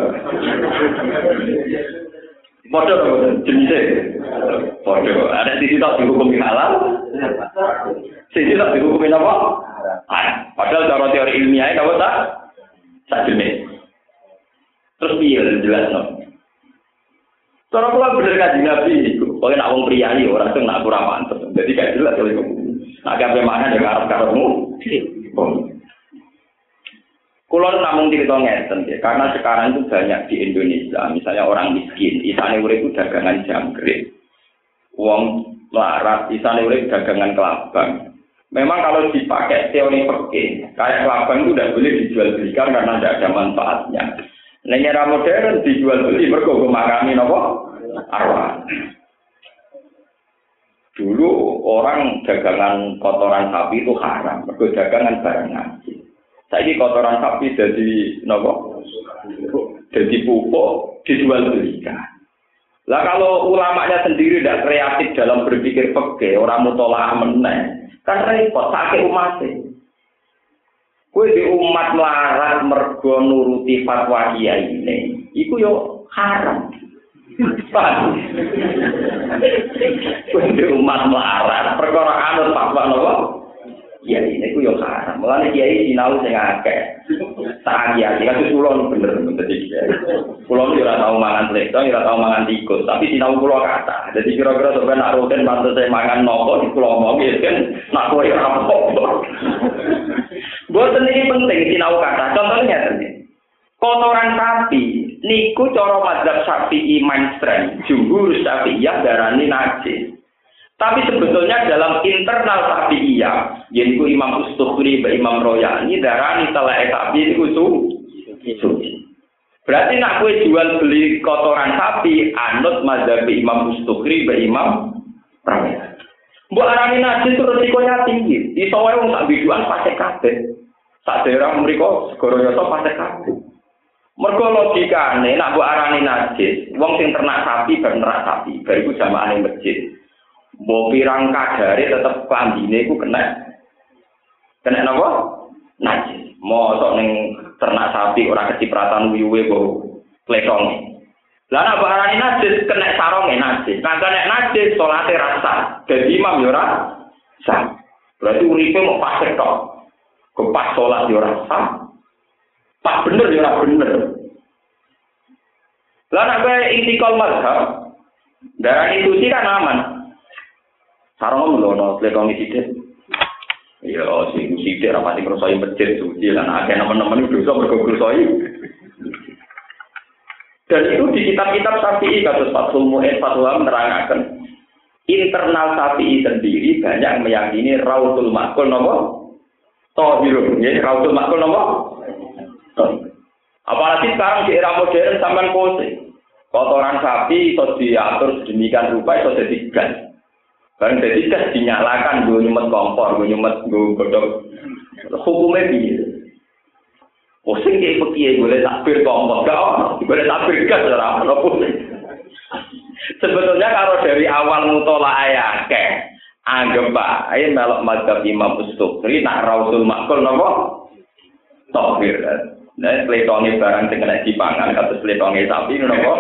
Podo jenisnya? Podo. Ada sisi tak dihukumi halal? Sisi tak dihukumi apa? Ah, padahal cara teori ilmiahnya apa tak? Tak jenis. Terus piye jelas no. Cara pula bener kaji Nabi itu. Pokoknya nak wong priayi orang itu nak kurang mantep. Jadi gak jelas oleh kamu. Nak kabeh mangan ya karep-karepmu. Kulo namung cerita ngeten ya, karena sekarang itu banyak di Indonesia, misalnya orang miskin, isane urip itu dagangan jangkrik. Wong larat, isane urip dagangan kelabang. Memang kalau dipakai teori fikih, kayak kelabang itu tidak boleh dijual belikan karena tidak ada manfaatnya. Ning era modern dijual beli mergo makani napa? Arwah. Dulu orang dagangan kotoran sapi itu haram, mergo dagangan barang ngaji. Saiki kotoran sapi jadi napa? Jadi pupuk dijual belikan. Lah kalau ulamanya sendiri tidak kreatif dalam berpikir fikih, orang mutolaah meneh. Kan repot sakit umat e. Kowe di umat melarat mergo nuruti fatwa kiai ini, iku yo haram. Paham? Kowe di umat melarat perkara anut fatwa napa? Ya ini ku yo haram. Mulane kiai sinau sing akeh. Tak kiai kan kula bener bener iki. Kula ora tau mangan lekto, ora tau mangan tikus, tapi sinau kula kata. Jadi kira-kira sampeyan nak rutin pantes saya mangan nopo di kula omong ya kan nak kowe ora apa. Boten ini penting sinau kata. Contohnya tadi. Kotoran sapi niku cara mazhab Syafi'i mainstream, jumhur Syafi'iyah darani najis. Tapi sebetulnya dalam internal Syafi'iyah, yaitu Imam Ustukhri, Imam Royani darani telek sapi niku suci. Berarti nak kowe jual beli kotoran sapi anut mazhab Imam Ustukhri, Imam Royani. Mbok arani najis itu resikonya tinggi. Iso wae wong sak biduan pasti kabeh. Sak daerah mriku segara yasa pasti kabeh. Mergo logikane nek mbok arani najis, wong sing ternak sapi ben ternak sapi, bariku jamaane masjid. Mbok pirang kadare tetep klambine iku kena. Kena napa? Najis. Mosok ning ternak sapi ora kecipratan uyuwe kok kletonge. Lah nek mbok arani najis kena saronge najis. Nah kena najis salate rasa. Dadi imam yo ora sah. Berarti uripe mau pasek tok. Kepas salat yo ora sah. Pak bener ya ora bener. Lah nek kowe intikal mazhab, darani suci kan aman. Sarung ngono lekong sithik. Ya sing sithik ra pati ngrasani masjid suci lan akeh nemen-nemen dosa mergo ngrasani. Dan itu di kitab-kitab Syafi'i kados Fathul Mu'in Fatwa menerangkan internal Syafi'i sendiri banyak meyakini Raudhul Maqul napa? Tahirun, ya Raudhul Maqul napa? Apalagi sekarang di era modern sampean pose. Kotoran sapi iso diatur sedemikian rupa iso dadi gas. Bareng dadi gas dinyalakan nggo nyumet kompor, nggo nyumet nggo godhog. Hukume piye? Pusing iki piye boleh takbir kompor gak ono, boleh takbir gas ora ono pusing. Sebetulnya kalau dari awal mutolaah akeh, anggap ae melok mazhab Imam Ustukhri nak Raudhul Maqul napa? Tahir. Nah, letonge barang sing kena dipangan kados letonge sapi ngono kok.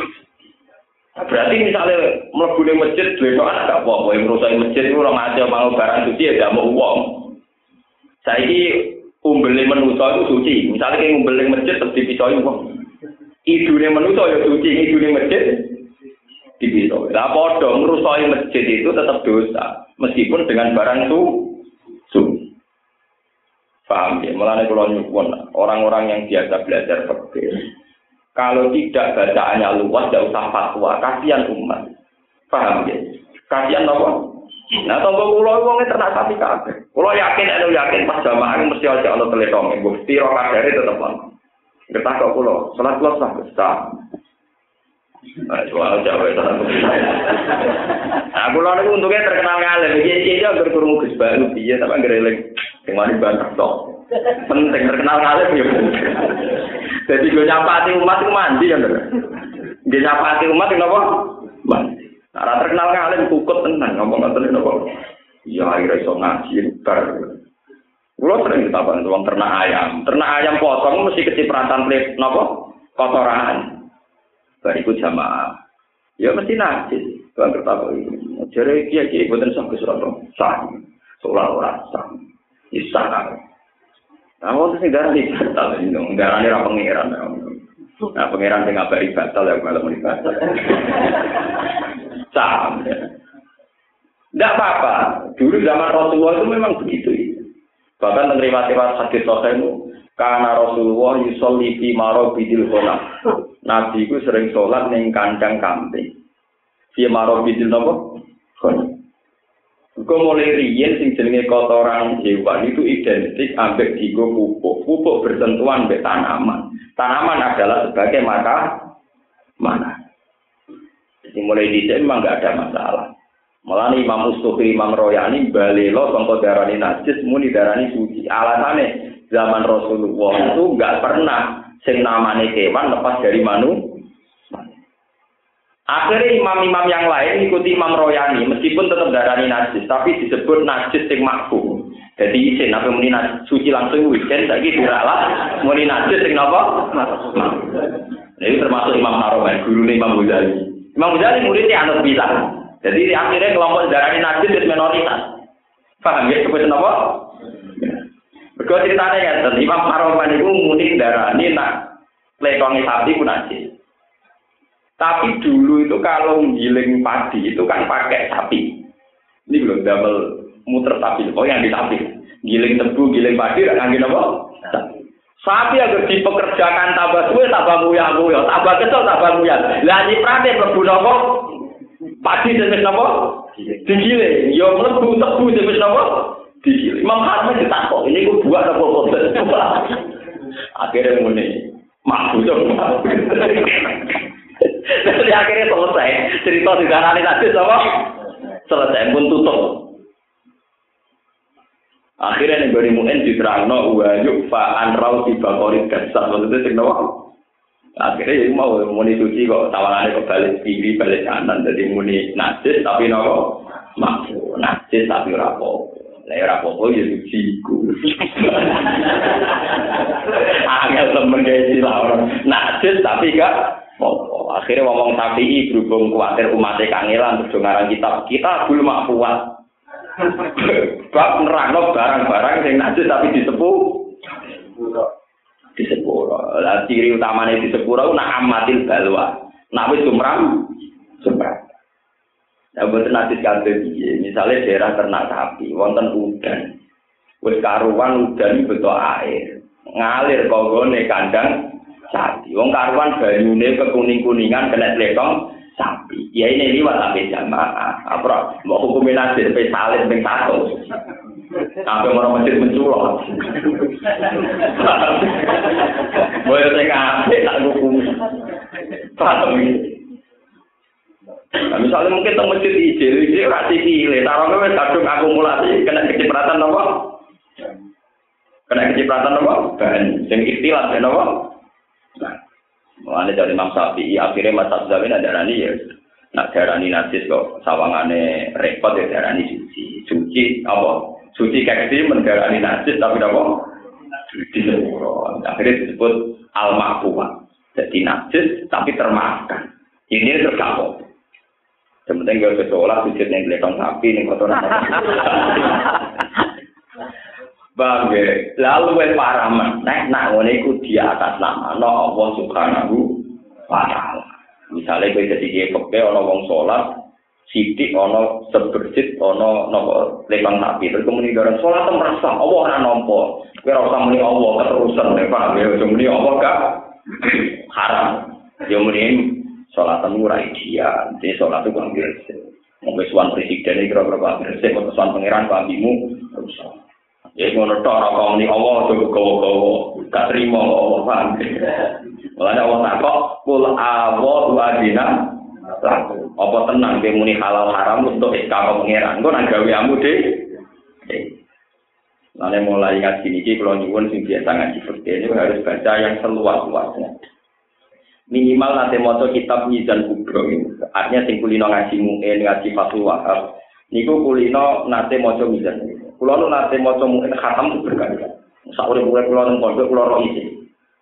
Berarti misalnya mlebu ning masjid letongan gak apa-apa, yang rusak masjid itu ora ngaco mau barang suci ya mau wong. Saiki umbele manusa itu suci. Misalnya kayak umbele masjid terus dipisoi wong. Idune manusa ya suci, idune masjid dipisoi. Lah padha ngrusaki masjid itu tetap dosa meskipun dengan barang su suci. Paham ya, mulanya kalau nyuwun orang-orang yang biasa belajar fikih, kalau tidak bacaannya luas, tidak usah fatwa, kasihan umat. Paham ya? Kasihan apa? Nah, tunggu pulau uangnya ternak sapi kabeh. Pulau yakin, anu yakin pas jamaah mesti aja Allah teletong. Bukti rokat dari tetap on. Kita kok pulau, salat pulau sah besar. Nah, soal Jawa itu aku. Nah, pulau itu untungnya terkenal ngalim. Iya, iya, berkurung Gus Baru, iya, tapi ngereling. Yang mari bantah tok. Penting terkenal ngalim ya. Jadi gue nyapati umat itu mandi ya, bener. Dia nyapati umat itu apa? Mandi. Nah, terkenal ngalim kukut tenang, ngomong ngoten napa? Ya akhirnya iso ngaji bar. Kulo sering ditapan wong ternak ayam. Ternak ayam potong mesti kecipratan plit napa? Kotoran. Bariku jamaah. Ya mesti najis. Bang ketapa iki. Jare kiye-kiye boten sah kesurat. Sah. Soal ora sah. Isa kan. Nah, waktu sing darah iki batal iki, darane ra pangeran. Nah, pangeran sing ngabari batal ya malah muni batal. Sam. Enggak apa-apa. Dulu zaman Rasulullah itu memang begitu. Bahkan menerima riwayat hadis sahih itu karena Rasulullah yusolli fi marabidil ghanam. Nabi ku sering salat ning kandang kambing. Fi marabidil napa? Ghanam. Kau mulai riyen sing jenenge kotoran hewan itu identik ambek digo pupuk. Pupuk bersentuhan ambek tanaman. Tanaman adalah sebagai mata mana. Jadi mulai dicek memang nggak ada masalah. Malah Imam Ustukhri, Imam Royani balelo sangka darani najis muni darani suci. Alasannya zaman Rasulullah itu nggak pernah sing namane kewan lepas dari manusia. Akhirnya imam-imam yang lain ikuti Imam Royani, meskipun tetap darani najis, tapi disebut najis yang makfu. Jadi isin, apa muni najis suci langsung weekend, lagi diralah muni najis yang apa? Nah, ini termasuk Imam Haromen, guru Imam Ghazali. Imam Ghazali muridnya anut bisa. Jadi akhirnya kelompok darani najis itu minoritas. Paham ya? Kebetulan apa? Berikut ceritanya ya, Imam Haromen itu muni darani nak lekongi sapi pun najis. Tapi dulu itu kalau giling padi itu kan pakai sapi. Ini belum double muter sapi. Oh yang di sapi. Giling tebu, giling padi, ngangge napa? Sapi agar dipekerjakan tambah suwe, tambah muyah-muyah, tambah kesel, tambah muyah. Lah nyiprate mlebu napa? Padi sing wis napa? Digiling. Yo mlebu tebu sing wis napa? Digiling. Imam Harman ditakok, ini ku buat apa boten? Akhirnya muni, mabuk dong. Jadi akhirnya selesai. Cerita digarani tadi apa? Selesai pun tutup. Akhirnya nih beri mungkin diterangno wajib faan rau tiba korit kasar maksudnya sing nawa. Akhirnya yang mau muni suci kok tawarannya kok balik kiri balik kanan jadi muni najis tapi nawa maksu najis tapi rapo. Lah rapo ya suci ku. Angel temen kayak silau najis tapi gak. Akhirnya ngomong Syafi'i berhubung khawatir umatnya kangelan terus ngarang kitab kita belum kuat. Bab nerangno barang-barang yang najis tapi disepuh disepuh. Lah ciri utamanya disepuh ku nak amatil balwa. Nak wis sumram sumram. Ya boten najis kabeh piye. Misale daerah ternak sapi wonten udan. Wis karuan udan beto air. Ngalir konggone kandang sapi. Wong karuan banyune kekuning-kuningan kena tletong sapi. Ya ini liwat sampai jamaah. Apa mbok hukume najis sampai salib ning satu. Sampai orang masjid menculok. Boleh sing apik tak hukum. Paham iki. Nah, misalnya mungkin teng masjid ijil, ijil ora sikile, taroke wis kadung akumulasi kena kecipratan apa? Kena kecipratan apa? Ban sing ikhtilaf ya apa? Nah, mulane dari Imam Syafi'i akhirnya masa zaman ada rani ya. Nak darani najis kok sawangane repot ya darani suci. Suci apa? Suci kayak gini mendarani najis tapi apa? Disebut. Akhirnya disebut al-ma'fuwah. Jadi najis tapi termaafkan. Ini terkabul. Sementing gak sekolah sujud yang gelekong sapi ning kotoran. Bangge, lalu wis parah meneh nak ngene iku di atas nama Allah Subhanahu wa taala. Misale kowe dadi kiye kepe ana wong salat, sithik ana seberjit ana napa lekang sapi. Terus kemudian garan salat merasa Allah ora nampa. Kowe ora usah muni Allah keterusan nek paham ya, muni Allah gak haram. Ya muni salat ora ideal. Dadi salat itu ambil wong wis wan presiden iki kira-kira ambil sik keputusan pangeran pambimu rusak. Ya ngono tok ora kok muni Allah cukup gowo-gowo, gak trimo Allah paham. Mulane Allah takok kul awu adina laku. Apa tenang kowe muni halal haram untuk istiqamah pangeran. Engko nang gaweamu de. Mulane mulai ngaji niki kula nyuwun sing biasa ngaji fikih ini harus baca yang seluas-luasnya. Minimal nanti maca kitab Mizan Kubro ini. Artinya sing kulino ngaji mu'in, ngaji Fathul Wahab. Niku kulino nate maca Mizan. Kula nu nate maca mu'in khatam berkali-kali. Saurip-urip kula nang pondok kula ro isi.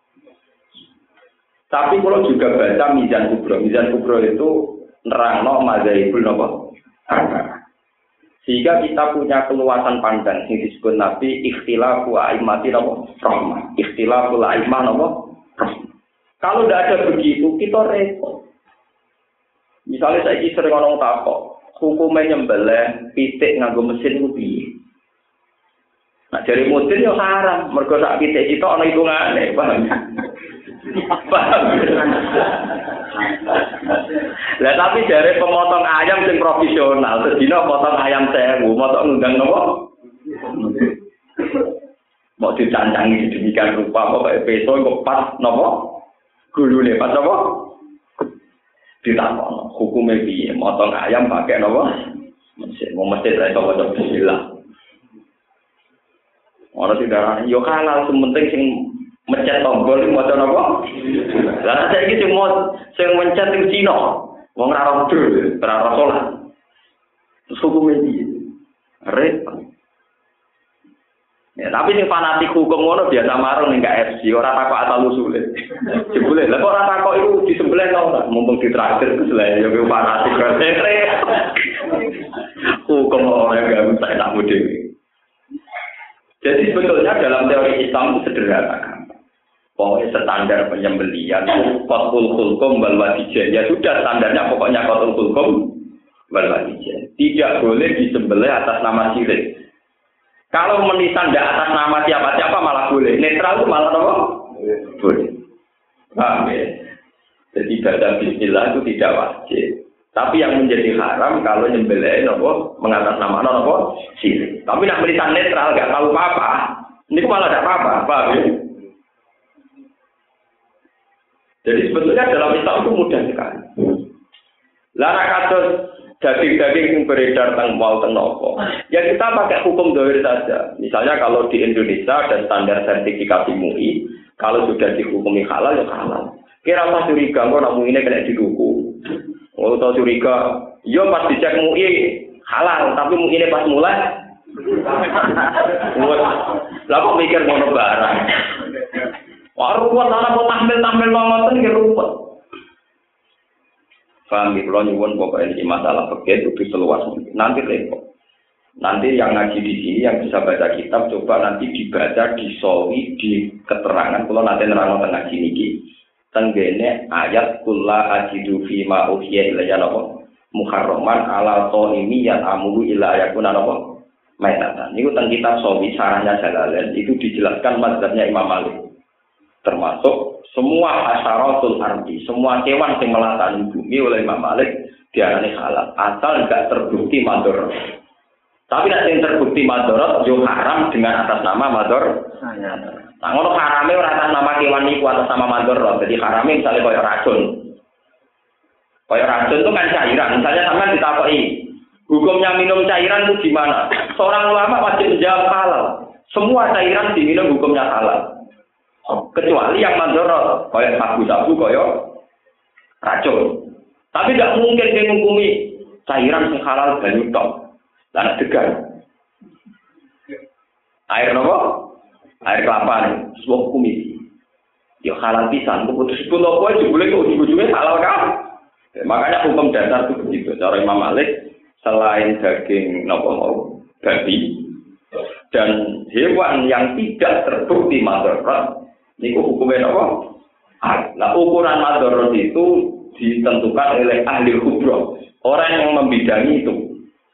Tapi kula juga baca Mizan Kubro. Mizan Kubro itu nerangno mazhabul napa? Sehingga kita punya keluasan pandang yang disebut Nabi ikhtilafu a'immati napa? Rahmah. Ikhtilafu a'immah napa? Rahmah. Kalau tidak ada begitu, kita repot. Misalnya saya sering ngomong takok, hukumnya nyembelih pitik nganggo mesin itu piye? Nah dari mesin ya haram, mergo sak pitik itu ana hitungane, paham? Paham? Lah tapi dari pemotong ayam sing profesional, sedina potong ayam sewu, motong ngundang napa? Mau dicancangi sedemikian rupa, pokoknya peso kok pas napa? Gulune pas apa? Ditakon hukume piye? Motong ayam pakai napa? Mesin, mau mesin ra iso waca bismillah. Ora didarani yo halal sementing sing mencet tombol iki maca napa? Lah saiki sing mau sing mencet sing Cina, wong ra ora dul, ora ora salat. Terus hukume piye? Repot. Ya, tapi sing fanatik hukum ngono biasa marung ning K F C, ora takok asal usule. Jebule, lha kok ora takok iku disembelih to ora? Mumpung ditraktir terus lha ya kuwi fanatik kare. Hukum ora gak usah tak dhewe. Jadi sebetulnya dalam teori Islam itu sederhana kan. Pokoknya standar penyembelian qatul khulqum wal wadijah. Ya sudah standarnya pokoknya qatul khulqum wal wadijah. Tidak boleh disembelih atas nama syirik. Kalau menisan tidak atas nama siapa-siapa malah boleh. Netral itu malah apa? Boleh. Paham ya? Jadi baca bismillah itu tidak wajib. Tapi yang menjadi haram kalau nyembelih nopo mengatasnamakan nopo syirik. Tapi nak menisan netral gak tahu apa-apa. Ini malah tidak apa-apa. Paham ya? Jadi sebetulnya dalam Islam itu mudah sekali. Lara kasus daging-daging yang beredar tentang mal tenopo. Ya kita pakai hukum dohir saja. Misalnya kalau di Indonesia ada standar sertifikasi M U I, kalau sudah dihukumi halal ya halal. Kira pas curiga kok nak M U I ini kena didukung. Oh tahu curiga, yo pas dicek M U I halal, tapi M U I ini pas mulai. Lah kok mikir ngono barang. Wah ruwet ana kok tampil-tampil ngoten ki ruwet. Paham ya, kalau nyuwun pokoknya ini masalah fikih itu seluas mungkin. Nanti repot. Nanti yang ngaji di sini, yang bisa baca kitab, coba nanti dibaca, disolwi, di keterangan. Kalau nanti nerang tengah ngaji ini, tenggene ayat kulla ajidu fi ma uhiya ilayya napa muharraman ala qaimi yang amuru ila ayakuna napa maitatan. Niku teng kitab solwi sarahnya Jalalain itu dijelaskan mazhabnya Imam Malik. Termasuk semua asyaratul ardi, semua kewan yang melatani bumi oleh Imam Malik diarani halal, asal enggak terbukti mador. Tapi nek sing terbukti mador, yo haram dengan atas nama mador. Nah, ngono harame ora atas nama kewan niku atas nama mador. Jadi harame misalnya koyo racun. Koyo racun itu kan cairan. Misalnya sampean ditakoki, hukumnya minum cairan itu gimana? Seorang ulama wajib menjawab halal. Semua cairan diminum hukumnya halal. Kecuali yang mandorot, kayak sabu-sabu, kayak racun. Tapi tidak mungkin dia menghukumi cairan yang halal banyu tok. Dan degan. Air apa? Air kelapa nih. Sebuah hukumi. Ya halal pisan. Putus pun apa aja boleh kok ujung-ujungnya halal kan? Ya, makanya hukum dasar itu begitu. Cara Imam Malik selain daging nopo mau babi dan hewan yang tidak terbukti mandorot. Niku hukumnya apa? Nah, ukuran madorot itu ditentukan oleh ahli kubro, orang yang membidangi itu.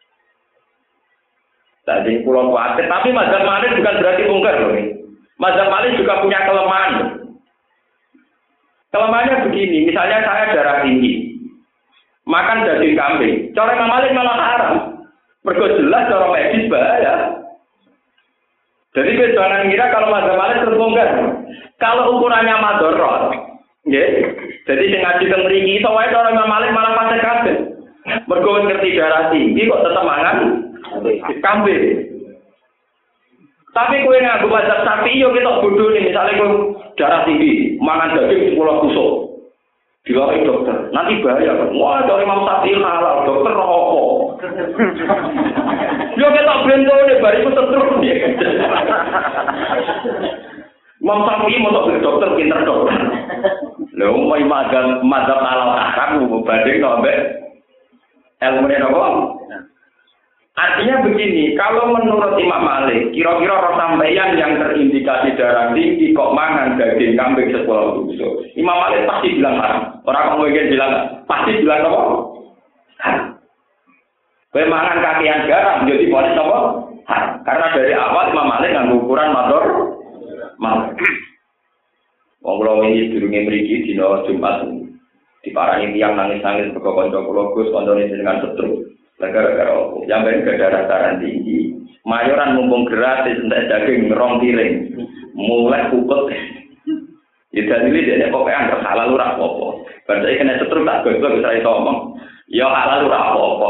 Jadi pulau kuatir, tapi mazhab Malik bukan berarti mungkar loh. Mazhab Malik juga punya kelemahan. Kelemahannya begini, misalnya saya darah tinggi, makan daging kambing, cara Imam Malik malah haram. Mergo jelas cara medis bahaya. Jadi jangan kira kalau mazhab Malik terbongkar. Kalau ukurannya madorot, nggih. Jadi sing ngaji teng mriki iso wae cara Imam Malik malah pasek kabeh. Mergo ngerti darah tinggi kok tetep mangan kambing. Tapi kowe nganggo mazhab Syafi'i yo ketok bodoh nih, misale kowe darah tinggi, mangan daging sepuluh tusuk. Diwai dokter, nanti bahaya. Wah, dari Imam Syafi'i halal, dokter opo. Yo ketok bentone bariku setruk. Imam Syafi'i mau dokter pinter dokter. Lha umai mazhab mazhab halal haram banding ambek ilmu apa? Artinya begini, kalau menurut Imam Malik, kira-kira roh sampeyan yang terindikasi darah tinggi kok mangan daging kambing sepuluh tusuk. Imam Malik pasti bilang haram. Orang kamu mungkin bilang pasti bilang apa? Haram. Kowe mangan kakean garam jadi polis apa? Haram. Karena dari awal Imam Malik nganggo ukuran mador mal. Wong kula wingi durunge mriki dina Jumat diparani tiyang nangis-nangis mergo kanca kula Gus kancane jenengan setruk. Gara-gara opo? Yang ben darah darah tinggi. Mayoran mumpung gratis entek daging rong piring. Mulai kukut. Ya dalile dene pokoke anggere halal ora apa-apa. Bar saiki kena setruk tak gosok wis ora iso omong. Ya halal ora apa-apa.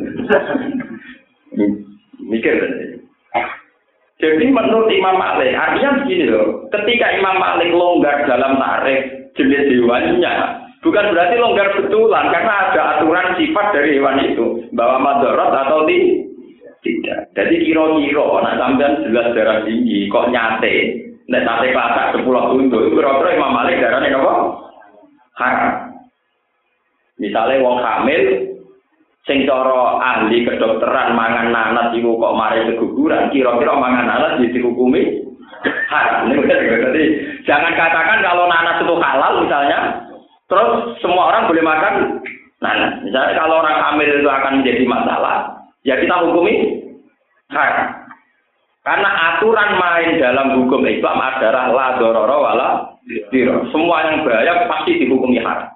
Mikir dene. Jadi menurut Imam Malik, artinya begini loh, ketika Imam Malik longgar dalam tarikh jenis hewannya, bukan berarti longgar betulan, karena ada aturan sifat dari hewan itu, bahwa madorot atau tidak. Jadi kira-kira, nak sampean jelas darah tinggi, kok nyate, nek sate klasak sepuluh tunduk, itu kira-kira Imam Malik darahnya apa? Haram. Misalnya wong hamil, sing cara ahli kedokteran mangan nanas iku kok mari keguguran, kira-kira mangan nanas jadi dihukumi haram. Jadi jangan katakan kalau nanas itu halal misalnya, terus semua orang boleh makan nanas. Misalnya kalau orang hamil itu akan menjadi masalah, ya kita hukumi haram. Karena aturan main dalam hukum Islam adalah la dororo wala diro. Semua yang bahaya pasti dihukumi haram.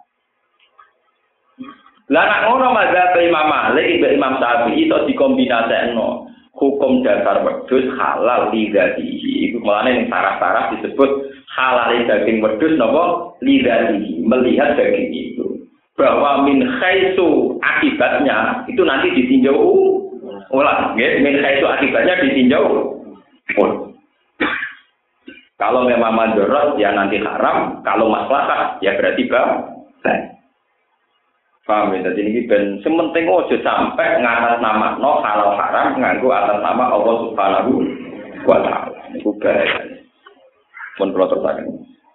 Lah nek ngono mazhab Imam Malik ibe Imam Syafi'i itu dikombinasekno hukum dasar wedhus halal lidatihi. Iku malane ning sarah-sarah disebut halal daging wedhus napa lidatihi, melihat daging itu. Bahwa min khaisu akibatnya itu nanti ditinjau ulang, nggih, min khaisu akibatnya ditinjau. Oh. Kalau memang mandorot ya nanti haram, kalau maslahat ya berarti baik. Paham ya, jadi ini ben sementing ojo sampai ngatas nama no halal haram nganggo atas nama Allah Subhanahu wa taala. Niku bahaya. Pun kula terusaken.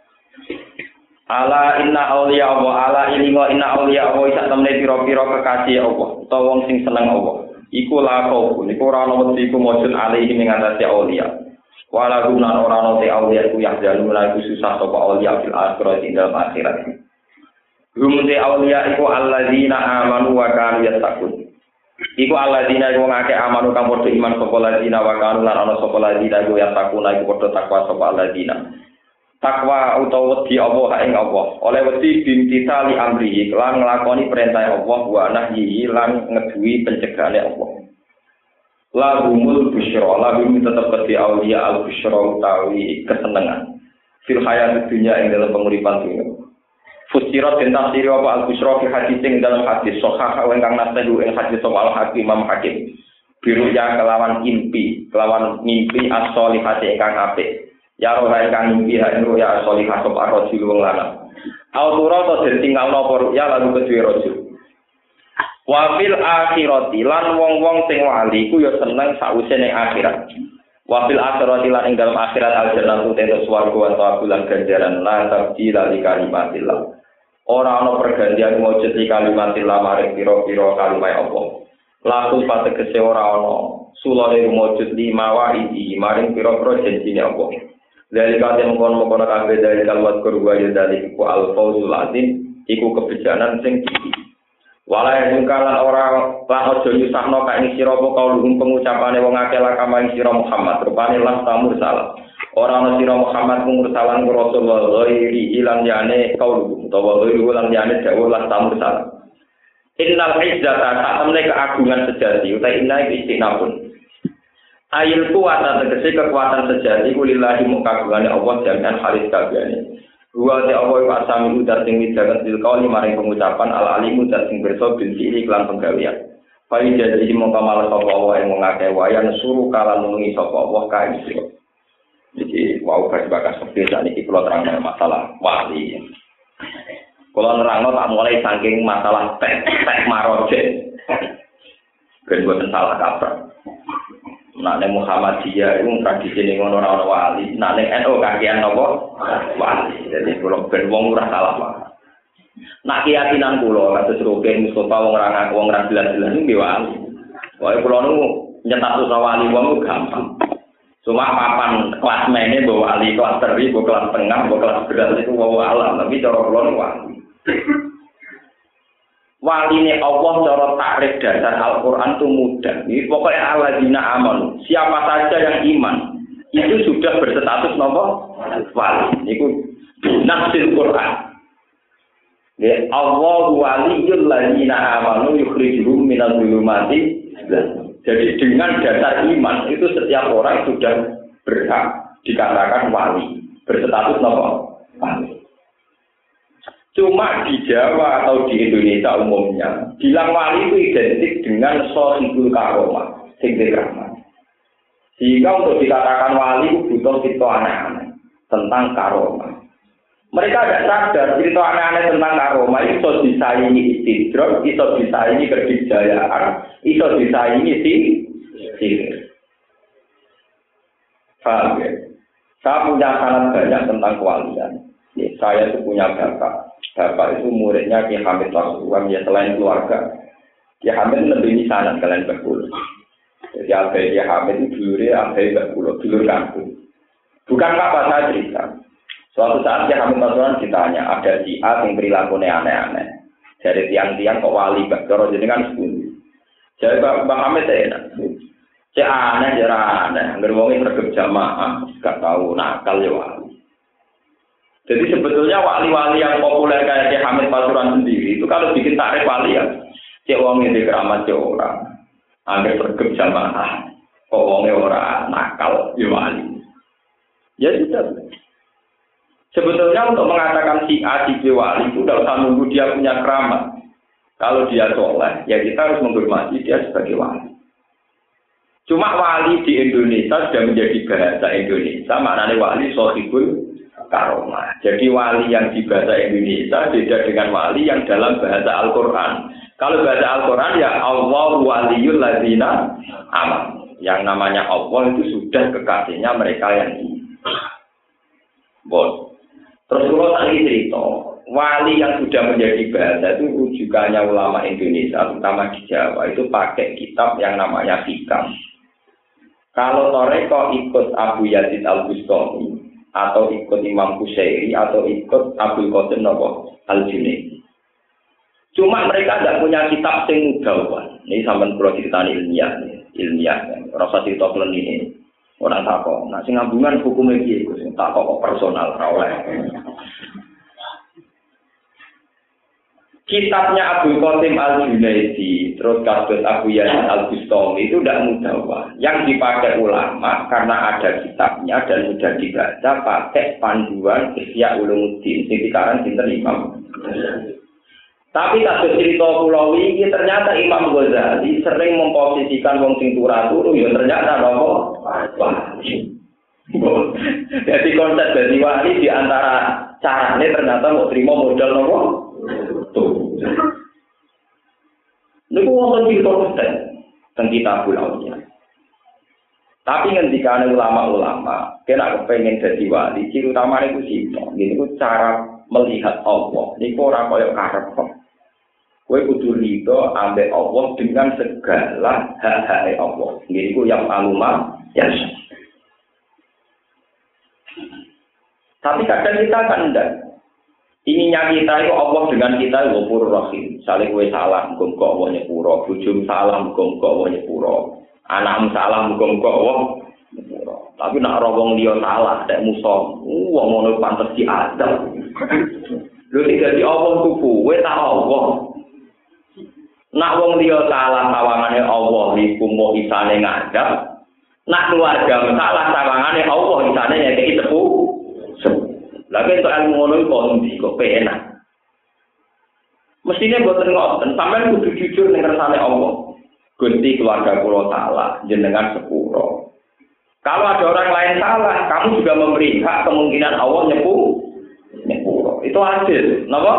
Ala inna auliya Allah, ala ilingo inna auliya Allah sak temne pira-pira kekasih Allah, utawa wong sing seneng Allah. Iku la kau, niku ora ana wedi iku mujud alaihi ing atase auliya. Wala guna ora ana te auliya iku yahdalu lagu susah sapa auliya fil akhirat ing dalam akhirat. Rumute auliya iku alladzina amanu wa kanu yattaqun. Iku alladzina wong akeh amanu kang padha iman sapa alladzina wa kanu lan ana sapa alladzina iku yattaqun iku padha takwa sapa alladzina. Takwa utawa wedi Allah ing Allah. Oleh wedi bintitali amrihi lan nglakoni perintah Allah wa nahyi lan ngeduwi pencegahane Allah. Lahumul busyra, lahum tetep kedhi auliya al busyra utawi kesenengan. Fil hayatid dunya ing dalam penguripan dunya. Fusirat dan tafsir apa al-Busra fi hadis ing dalam hadis sahih ingkang nasehu ing hadis soal Hakim Imam Hakim biru ya kelawan impi kelawan mimpi as-solihati ingkang apik ya roh ingkang mimpi ha ing ya as-solihah sapa rajul wong lanang autura to den tinggalno apa ya lalu kedue rajul wa fil akhirati lan wong-wong sing wali ku ya seneng sawise ning akhirat. Wafil akhirati lan ing dalam akhirat al-jannatu tentu swarga wa tawabulan ganjaran la tabdila li kalimatillah. Ora ana pergantian wujud li kalimatillah maring pira-pira kalimah Allah. Laku pategese ora ana sulane wujud lima waidi maring pira-pira janjine Allah. Dari kate mengkon-mengkon kabeh dari kalwat kurwa ya dari ku al-fawzul azim iku kebijakan sing wala yang kalan ora lan aja nyusahno kae ing sira apa kaulun pengucapane wong akeh la kama ing sira Muhammad rupane lan tamur salah ora ana sira Muhammad mursalan Rasulullah ghairi ilan yane kaulun utawa ghairi ulan yane dawuh lan tamur salah innal izzata ta'amne keagungan sejati uta inna istinabun ayil kuwata tegese kekuatan sejati kulillahi mukagungane Allah jangan halis kabehane. Wa ta Allah wa sami udat sing widangan sil kauli maring pengucapan al alimu dat sing berso bin iki lan penggawean. Fai jadi mongko malah sapa Allah ing ngake wayan suruh kala nulungi sapa Allah kae sira. Iki wau bakas seperti sakniki kula terangno masalah wali. Kula nerangno tak mulai saking masalah tek tek maroje. Ben boten salah kaprah. Nek ning Muhammadiyah iku tradisi ning ngono ora ana wali, nek ning N U kakean napa? Wali. Jadi kula ben wong ora salah wae. Nek keyakinan kula kados Rukin Mustofa wong ora ngaku wong ora jelas-jelas iki wali. Wae kula nu nyetak wali wong gampang. Cuma papan kelas mene mbok wali kelas teri, mbok kelas tengah, mbok kelas berat itu wong alam, tapi cara kula nu wali. Waline Allah cara takrif dasar Al-Qur'an itu mudah. Ini pokoknya alladzina amanu. Siapa saja yang iman itu sudah berstatus napa? Wali. Niku nasil Qur'an. Ya Allah waliyul ladzina amanu yukhrijuhum minadh dhulumati. Jadi dengan dasar iman itu setiap orang sudah berhak dikatakan wali, berstatus napa? Wali. Cuma di Jawa atau di Indonesia umumnya, bilang wali itu identik dengan sahibul karomah, sing rahmat. Sehingga untuk dikatakan wali itu butuh cerita aneh-aneh tentang karomah. Mereka tidak sadar cerita aneh-aneh tentang karomah itu bisa disaingi istidrak, bisa disaingi kedikjayaan, bisa disaingi sihir. Paham ya? Saya punya sangat banyak tentang kewalian. Ya, saya itu punya bapak. Bapak itu muridnya Ki Hamid Pasuruan, ya selain keluarga. Ki Hamid lebih misanan kalian berkulo. Jadi Alfie Ki Hamid itu dulurnya Alfie berkulo, dulur kampung. Bukan apa saya cerita. Suatu saat Ki Hamid Pasuruan ditanya, ada si A yang perilakunya aneh-aneh. Dari tiang-tiang kok wali, Pak Doro jadi kan sepuluh. Jadi Pak Hamid saya enak. Cek aneh ya aneh, anggar wong sregep jamaah, gak tahu nakal ya wali. Jadi sebetulnya wali-wali yang populer kayak Syekh Hamid Pasuruan sendiri itu kalau bikin tarik wali ya, cek wong ini keramat cek orang, anggar sregep jamaah, kok wongnya orang nakal ya wali. Ya sudah. Sebetulnya untuk mengatakan si A, si B wali itu tidak usah nunggu dia punya keramat. Kalau dia soleh, ya kita harus menghormati dia sebagai wali. Cuma wali di Indonesia sudah menjadi bahasa Indonesia, maknanya wali sohibul karomah. Jadi wali yang di bahasa Indonesia beda dengan wali yang dalam bahasa Al-Quran. Kalau bahasa Al-Quran ya Allah waliyul ladzina amanu. Yang namanya Allah itu sudah kekasihnya mereka yang ini. Bon. Terus kalau tadi cerita, wali yang sudah menjadi bahasa itu rujukannya ulama Indonesia, terutama di Jawa, itu pakai kitab yang namanya Hikam. Kalau Toreko ikut Abu Yazid Al-Bustami, atau ikut Imam Qushairi, atau ikut Abdul Qasim Al-Junaidi. Cuma mereka tidak punya kitab yang mudah. Ini sampai kalau cerita ilmiah, ilmiah, rasa cerita ini. Orang takut, nah sing ngambungan hukumnya gitu, sing takut kok personal, oleh. Kitabnya Abdul Qasim Al-Junaidi, terus kasus Abu Yazid Al-Bustami itu tidak mudah, Pak. Yang dipakai ulama karena ada kitabnya dan sudah dibaca pakai panduan Ihya Ulumuddin, sing dikarang sinten Imam. Tapi kasus cerita pulau ini ternyata Imam Ghazali sering memposisikan wong sing turu ya ternyata nopo. Jadi konsep dari wali di antara caranya ternyata mau terima modal nopo. Tuh. Niku wonten cerita konten teng kitab ulama. Tapi ketika ulama-ulama kena kepengen jadi wali, ciri utama itu sito. Ini ku cara melihat Allah. Niku ora koyo karep. Kowe kudu rido ambek Allah dengan segala hak-hak Allah. Ini ku yang aluma ya. Tapi kadang kita kan enggak. Ininya kita itu Allah dengan kita itu Ghafurur Rahim. Saling kowe salah muga-muga Allah nyepuro, bojomu salah muga-muga Allah nyepuro, anakmu salah muga-muga Allah nyepuro. Tapi nak ora wong liya salah, nek musuh, wong ngono pantes diadab. Lho iki dadi Allah tuku, kowe tak Allah. Nak wong liya salah sawangane Allah iku mau isane ngadap. Nak keluarga salah sawangane Allah isane nyekeki sepu. Lagi untuk ilmu ngono iku ndi kok penak. Mestine mboten ngoten, sampean kudu jujur ning kersane Allah. Gusti keluarga kula salah, jenengan sepuro. Kalau ada orang lain salah, kamu juga memberi hak kemungkinan Allah nyepu nyepuro. Itu adil, napa?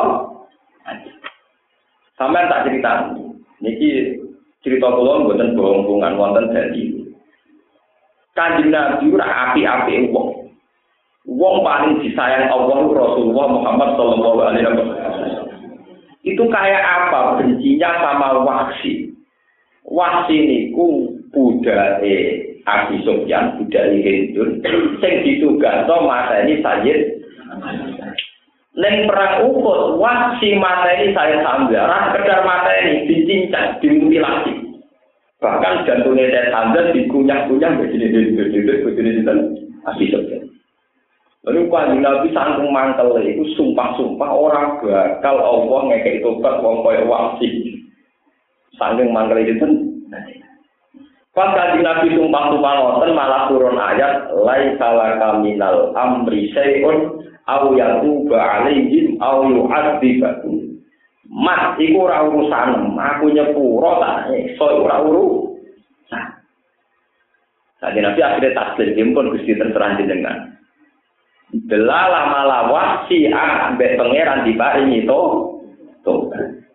Sampeyan tak cerita. Niki cerita kula mboten bohong-bohongan wonten dalil. Kanjeng Nabi ora api-api wong. Wong paling disayang Allah Rasulullah Muhammad sallallahu alaihi wasallam. Itu kayak apa bencinya sama Wahsy. Wahsy niku budake Abi Sufyan, budake Hindun sing ditugasno mateni Sayyid. Ning perang Uhud Wahsy mateni Sayyid Hamzah, ra sekedar mateni dicincang, dimutilasi. Bahkan jantungnya Sayyid Hamzah dikunyah-kunyah begini-begini begini Abi Sufyan. Lalu Kanjeng Nabi saking mangkel itu sumpah-sumpah orang bakal Allah ngekek tobat wong koyo Wahsy. Saking mangkel itu. Pas Kanjeng Nabi sumpah-sumpah ngoten malah turun ayat laisa laka minal amri syai'un aw yatuba 'alaihim aw yu'adzibahum. Mas iku ora urusan, aku nyepuro tak iso ora urusan. Kanjeng Nabi akhirnya taslim pun Gusti terserah jenengan. Delalah malah Wahsy ambek pangeran diparingi to to.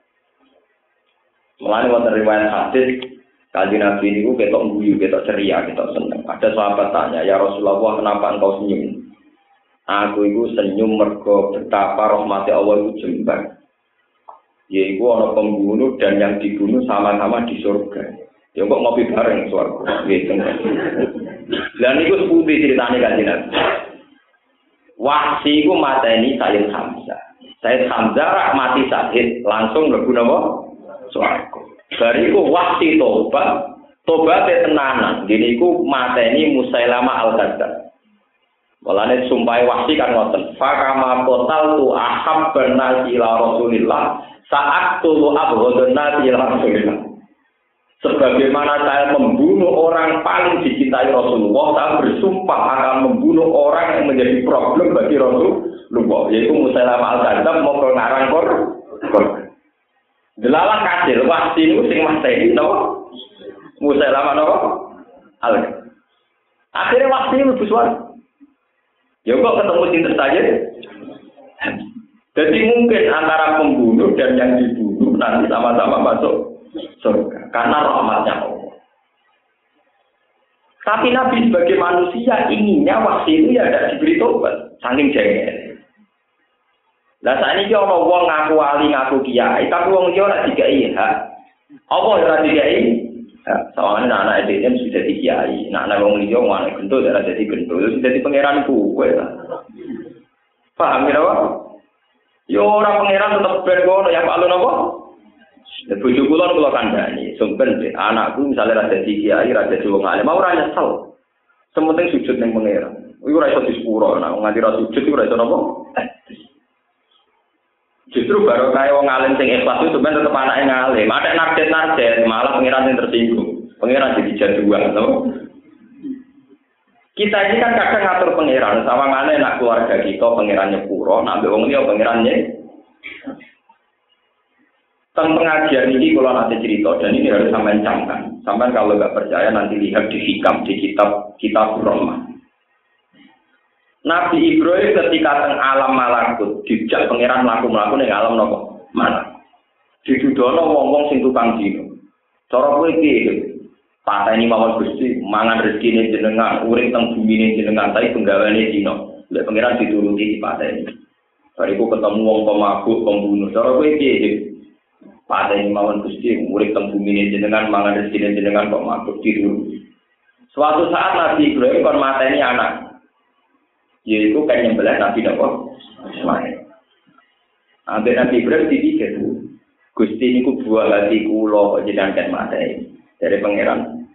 Mulane wonten riwayat hadis Kanjeng Nabi niku ketok guyu, ketok ceria, ketok seneng. Ada sahabat tanya, "Ya Rasulullah, kenapa engkau senyum?" Aku itu senyum mergo betapa rahmat Allah itu jembar. Yaiku ana pembunuh dan yang dibunuh sama-sama di surga. Ya kok ngopi bareng surga. Nggih. Lah niku sepundi ceritane Kanjeng Nabi. Wahsy iku mateni Sayyid Hamzah. Sayyid Hamzah rak mati syahid langsung mlebu napa? Swarga. Bariku Wahsy tobat Tobaté tenanan, gini iku mateni Musailama al-Kadzdzab. Walane sumpahe wasi kan ngoten. Fa kama total tu ahabban nasi ila Rasulillah saat tu abghadun nasi ila Rasulillah. Sebagaimana saya membunuh orang paling dicintai Rasulullah, saya bersumpah akan membunuh orang yang menjadi problem bagi Rasulullah, yaitu Musailama al-Kadzdzab mau ngarang kor. Delalah kasil wasi niku sing mateni napa? Musailama napa? Al-Kadzdzab. Akhirnya wasi mlebu swarga. Ya kok ketemu cinta saja. Jadi mungkin antara pembunuh dan yang dibunuh nanti sama-sama masuk surga karena rahmatnya Allah. Tapi Nabi sebagai manusia inginnya waktu itu ya tidak diberi tobat, saking jengkel. Lah saat ini orang wong ngaku wali ngaku kiai, tapi wong dia ora dikai hak. Apa ora dikai? Soalnya anak anak itu sudah jadi kiai, anak wong liya mana gendut ora jadi gendut, sudah jadi pangeran kowe lah. Paham ya apa? Yo ora pangeran tetep ben ngono yang palu napa? Bojo kula kula kandhani, sumpen anakku misalnya ora jadi kiai, ora jadi wong alim, ora nyesel. Sementing sujud ning pangeran. Iku ora iso disepuro, nek nganti ora sujud iku ora iso napa? Justru baru kaya wong alim sing ikhlas itu sebenarnya tetep anake ngalim. Ada narjet-narjet malah pangeran yang tersinggung. Pangeran jadi jaduan, loh. Kita ini kan kadang ngatur pangeran, sama mana nak keluarga kita pangerannya puro, nak wong liya pangerannya. Tentang pengajian ini kalau nanti cerita dan ini harus sampai camkan. Sampai kalau nggak percaya nanti lihat di hikam di kitab kitab Rahmah. Nabi Ibrahim ketika teng alam malakut dijak pangeran mlaku-mlaku ning alam napa? Malak. Didudono wong-wong sing tukang dino. Cara kowe iki pateni mawon Gusti, mangan rezekine jenengan, urip teng bumine jenengan, tapi penggaweane dino. Lek pangeran dituruti dipateni. Bariku ketemu wong pemabuk, pembunuh. Cara kowe iki pateni mawon Gusti, urip teng bumine jenengan, mangan rezekine jenengan kok mabuk dituruti. Suatu saat Nabi Ibrahim kon mateni anak. Yaitu kan yang belah Nabi Nabi Ismail. Ambil Nabi Ibrahim dipikir, Gusti ini ku buah hati kulo jenengan kan mateni dari pangeran.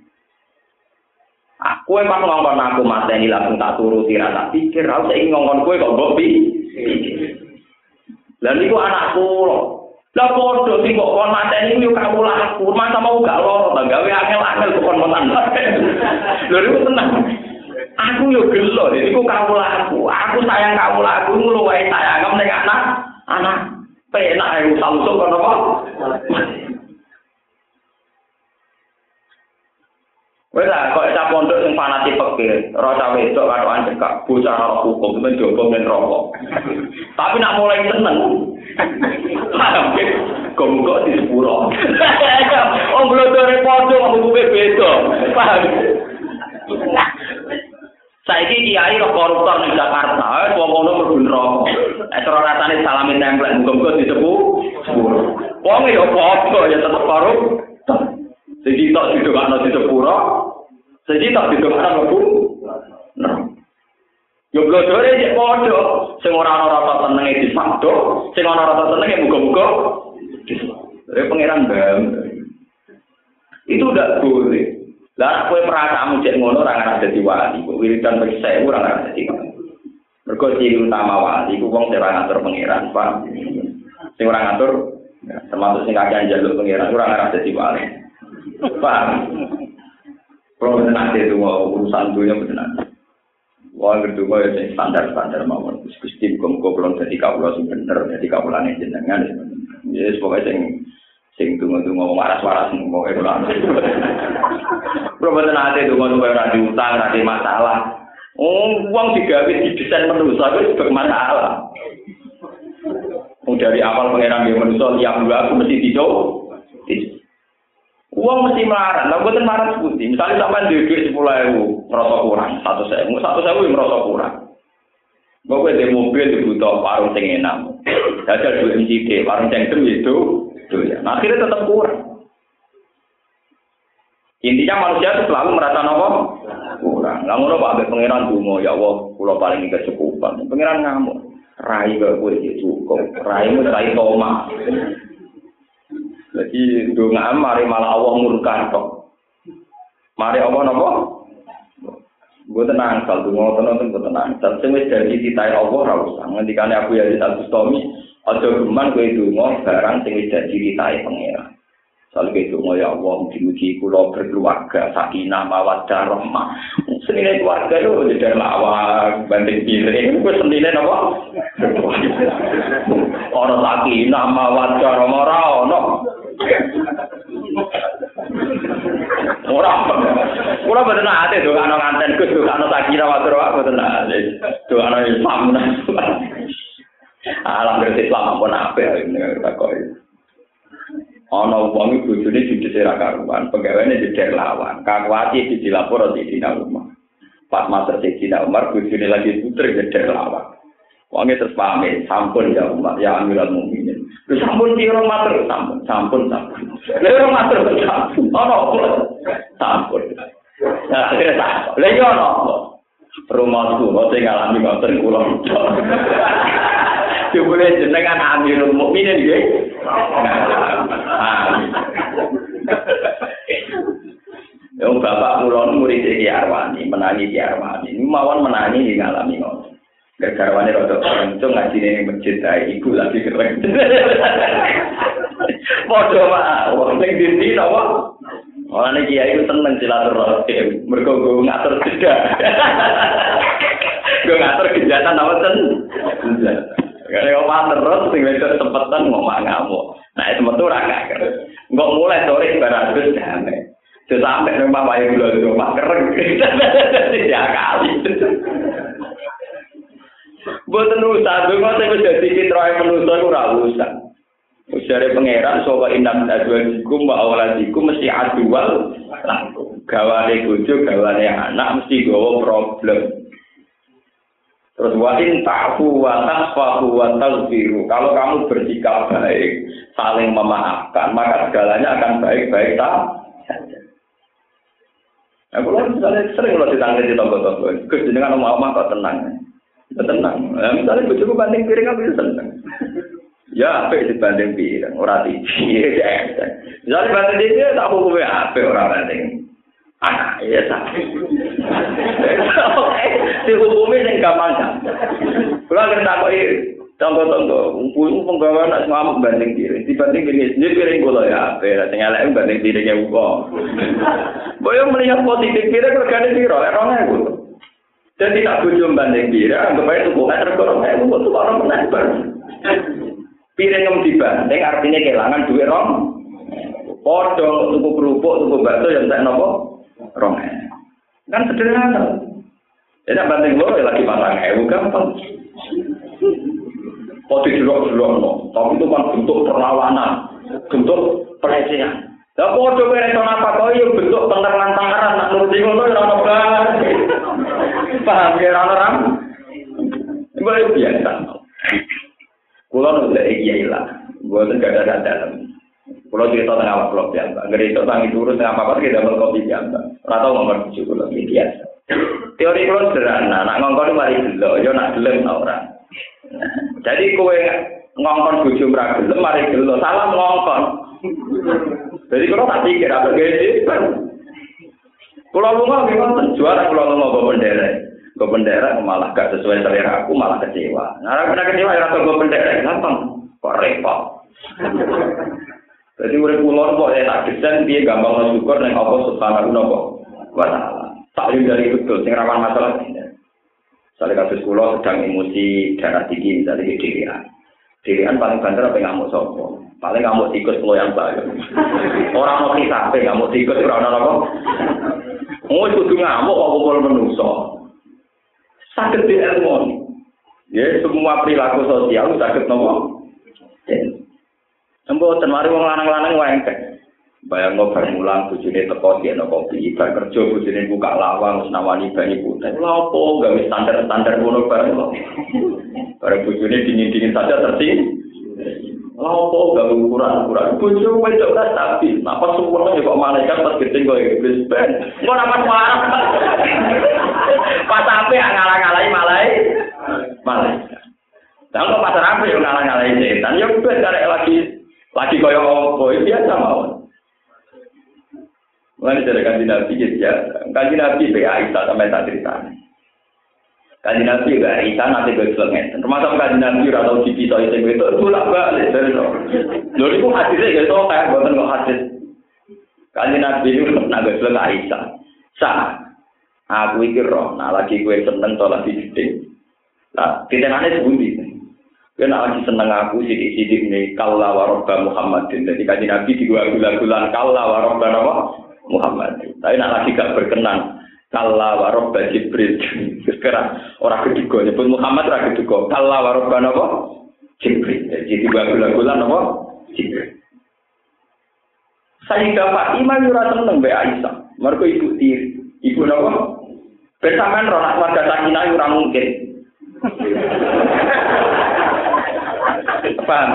Aku emang ngongkon aku mateni langsung tak turuti rasa pikir, aku saiki ngongkon kowe kok mbok pikir. Lah niku anakku lho. Lah padha sing kok kon mateni yo kawulaku, masa mau gak loro ta gawe angel-angel kok kon mateni. Lho niku tenang. Aku yo gelo, iku kawulaku. Aku sayang kawulaku ngluwahi sayang ning anak, anak penak ae usah-usah kono kok. Wes lah kok sak pondok sing fanatik pekir, ora cawe wedok karo anjekak, bocah ora hukum men jogo men rokok. Tapi nak mulai seneng. Kok kok di sepuro. Oh glodore padha ngomong beda. Paham? Saiki kiai roh koruptor ning Jakarta, wong kono mlebu neraka. Nek cara rasane salami templek muga-muga disebut sepuro. Wong ya padha ya tetep koruptor. Siji tok didongakno di sepuro, siji tok didongakno mlebu neraka. Yo glodore cek padha, sing ora ana rasa senenge disakdo, sing ana rasa senenge muga-muga disepuro. Pangeran Bam. Itu udah boleh. Lah kowe perasaanmu cek ngono ora ngarep dadi wali, kok wiridan wis sewu ora ngarep dadi wali. Mergo ciri utama wali iku wong sing ora ngatur pangeran, Pak. Sing ora ngatur termasuk sing kakek njaluk pangeran ora ngarep dadi wali. Pak. Kalau nanti itu mau urusan dunia benar. Wah kedua ya standar-standar mawon. Gusti muga-muga kula dadi kawula sing bener, dadi kawulane jenengan. Ya pokoke sing sing tunggu-tunggu waras-waras pokoke kula. Proboten ate tunggu-tunggu ora diutang, ora masalah. Oh, uang digawe didesain manusia itu bermasalah. Dari awal pengeran dia manusia lihat dua aku mesti tidur. Uang mesti marah, lah bukan marah seperti. Misalnya sampai duit sepuluh ribu merosot kurang, satu sewu, satu sewu merosot kurang. Gue di mobil dibutuh warung sing enak, jajal dua M C D, warung sing dem itu, tuh ya. Nah, akhirnya tetap kurang. Intinya manusia itu selalu merasa nopo kurang. Lah ngono Pak pengiran dungo ya Allah, kula paling kecukupan. Pengiran ngamuk, rai kok kowe iki cukup, raimu rai toma. Jadi ndonga mari malah Allah murka tok. Mari apa napa? Gue tenang, sal donga tenan gue tenang. Sal sing wis dadi titahe Allah ora usah. Ngendikane aku ya Al-Bustami, aja geman kowe donga barang sing wis dadi titahe pangeran. Sal kowe donga ya Allah mugi-mugi kula berkeluarga sakinah mawaddah rahmah. Senine keluarga lho jadi lawak banding piring kuwi senine napa? Ora sakinah mawaddah rahmah ora ono. Ora. Ora boten ate dokano nganten Gus dokano sakira matur wae boten ate. Dokano Islam. Alam berarti Islam pun apik takoki. Ana wong bojone didhese ra karuan, pegawene didher lawan. Kakuati dilapor di Dina Umar. Pas matur Dina Umar bojone lagi puter didher lawan. Wonge terus pamit, sampun ya Umar, ya Amirul Mukminin. Wis sampun piro matur, sampun, sampun, sampun. Lha ora matur sampun. Ono sampun. Nah, lha yo ono. Rumahku kok sing ngalami ngoten kula. Jebule jenengan Amirul Mukminin nggih. Yang bapak mulon murid Ki Arwani, menangi Ki Arwani. Ini mawon menangi ngalami ngoten. Garwane rada kenceng ngaji ning masjid ae ibu lagi keren. Padha wae wong sing dindi napa? Ora nek kiai ku seneng silaturahim, mergo go ngatur jeda. Go ngatur kejahatan apa ten? Kare omah terus sing wedok sempetan ngomong ngamuk. Nah, itu metu ora gak. Engko mulai sore barang wis damai. Sampai nang papahe kula di rumah kereng. Ya kali. Boten usah, donga sing wis dadi fitrahe manusa iku ora usah. Usare pangeran sapa inam azwajikum wa auladikum mesti adual langsung. Gawane bojo, gawane anak mesti gawa problem. Terus wa in ta'fu wa tasfahu wa taghfiru. Kalau kamu bersikap baik, saling memaafkan, maka segalanya akan baik-baik saja. Nah, kalau misalnya sering kalau ditangani di tonggo-tonggo, Gus jenengan omah-omah kok tenang. Tenang. Nah, misalnya bojoku banding piring aku seneng. Ya, apik dibanding piring, ora tiji. Misalnya banding tiji tak hukume apik ora banding. Ah, iya tak. Si hukume sing gampang kan. Kula ngerti takoki tonggo-tonggo, umpul penggawa nak ngamuk banding piring. Dibanding piring sendiri piring kula ya apik, sing elek banding piringnya uga. Boyo melihat positif piring regane piro? rong ewu. Dan tidak bojo banding piring, anggap ae tuku meter rong ewu kok orang menebar. Piring yang dibanding artinya kehilangan duit rong. Padha tuku kerupuk, tuku bakso yang tak nopo rong ewu. Kan sederhana. Jadi banding loro lagi patang ewu gampang. Poti jelok-jelok no, tapi itu kan bentuk perlawanan, bentuk pelecehan. Lah padha kowe reso apa kok yo bentuk penteran-penteran nak nuruti ngono ora ono bae. Paham ya ora ora? Iku biasa. Kulo nek iki ya lah. Mboten gak ada dalam. Kulo cerita tentang awak kulo biasa. Gerito tangi turun tengah apa-apa kita dapat kopi biasa. Ora tau ngomong bojo kulo biasa. Teori kulo sederhana, nak ngongkon mari delok yo nak gelem ta ora. Jadi kowe ngongkon bojo ora gelem mari delok salah ngongkon. Jadi kalau tak pikir apa gede, kalau lu nggak memang juara kalau lu nggak bawa bendera, bawa bendera malah gak sesuai selera aku malah kecewa. Nah, karena kecewa ya rasa bawa bendera gampang, kok repot. Jadi urip pulau kok ya tak desain dia gampang syukur neng Allah subhanahu wa taala. Tak dari betul, sing rawan masalah ini. Soalnya kasus pulau sedang emosi darah tinggi misalnya di dirian. Dirian paling banter apa ngamuk sopo. Paling ngamuk tikus lo yang baik. Orang mau kisah, tapi ngamuk tikus orang apa? Mau kudu ngamuk kok kumpul manusia. Sakit di ilmu. Ya semua perilaku sosial sakit nopo. Embo ten mari wong lanang-lanang wengkek. Bayang ngobar mulang bojone teko dieno kopi, bar kerja bojone buka lawang wis nawani banyu putih. Lha opo gawe standar-standar ngono bareng kok. Bareng bojone dingin-dingin saja terting. Lapo gawe ukuran-ukuran bojo wedok ta stabil. Napa sempurna kok malaikat pas gedeng kok iblis ben. Engko napa marah. Pas sampe ngalah-ngalahi malai. Malaikat. Lah kok pas sampe yo ngalah-ngalahi setan yo ben karek lagi lagi koyo opo biasa mawon. Mulai dari kanjeng Nabi ya, kanjeng Nabi be Aisyah sampai tak ceritanya. Kanjeng Nabi be Aisyah nanti gue selengen. Termasuk kanjeng Nabi ora tau dipisah itu itu bolak balik dari itu. Lho niku hadisnya gitu kayak boten kok hadis. Kanjeng Nabi itu nak gue selengen Aisyah. Sah. Aku iki roh, nah lagi gue seneng to lagi gede. Lah, kitane sebuti. Gue nak lagi seneng aku sidik-sidik nih kalla wa rabba Muhammadin. Jadi kanjeng Nabi di gula-gulan kalla wa rabba apa? Muhammad. Tapi nak lagi gak berkenan. Kalla wa rabba Jibril. Sekarang orang kedua nyebut Muhammad orang kedua. Kalla wa rabba apa? Jibril. Jadi gula-gulan apa? Jibril. Sayyidah Fatimah ora seneng mbek Aisyah. Mergo ibu tiri. Ibu napa? Bersama ronak warga Sakinah ora mungkin. Paham?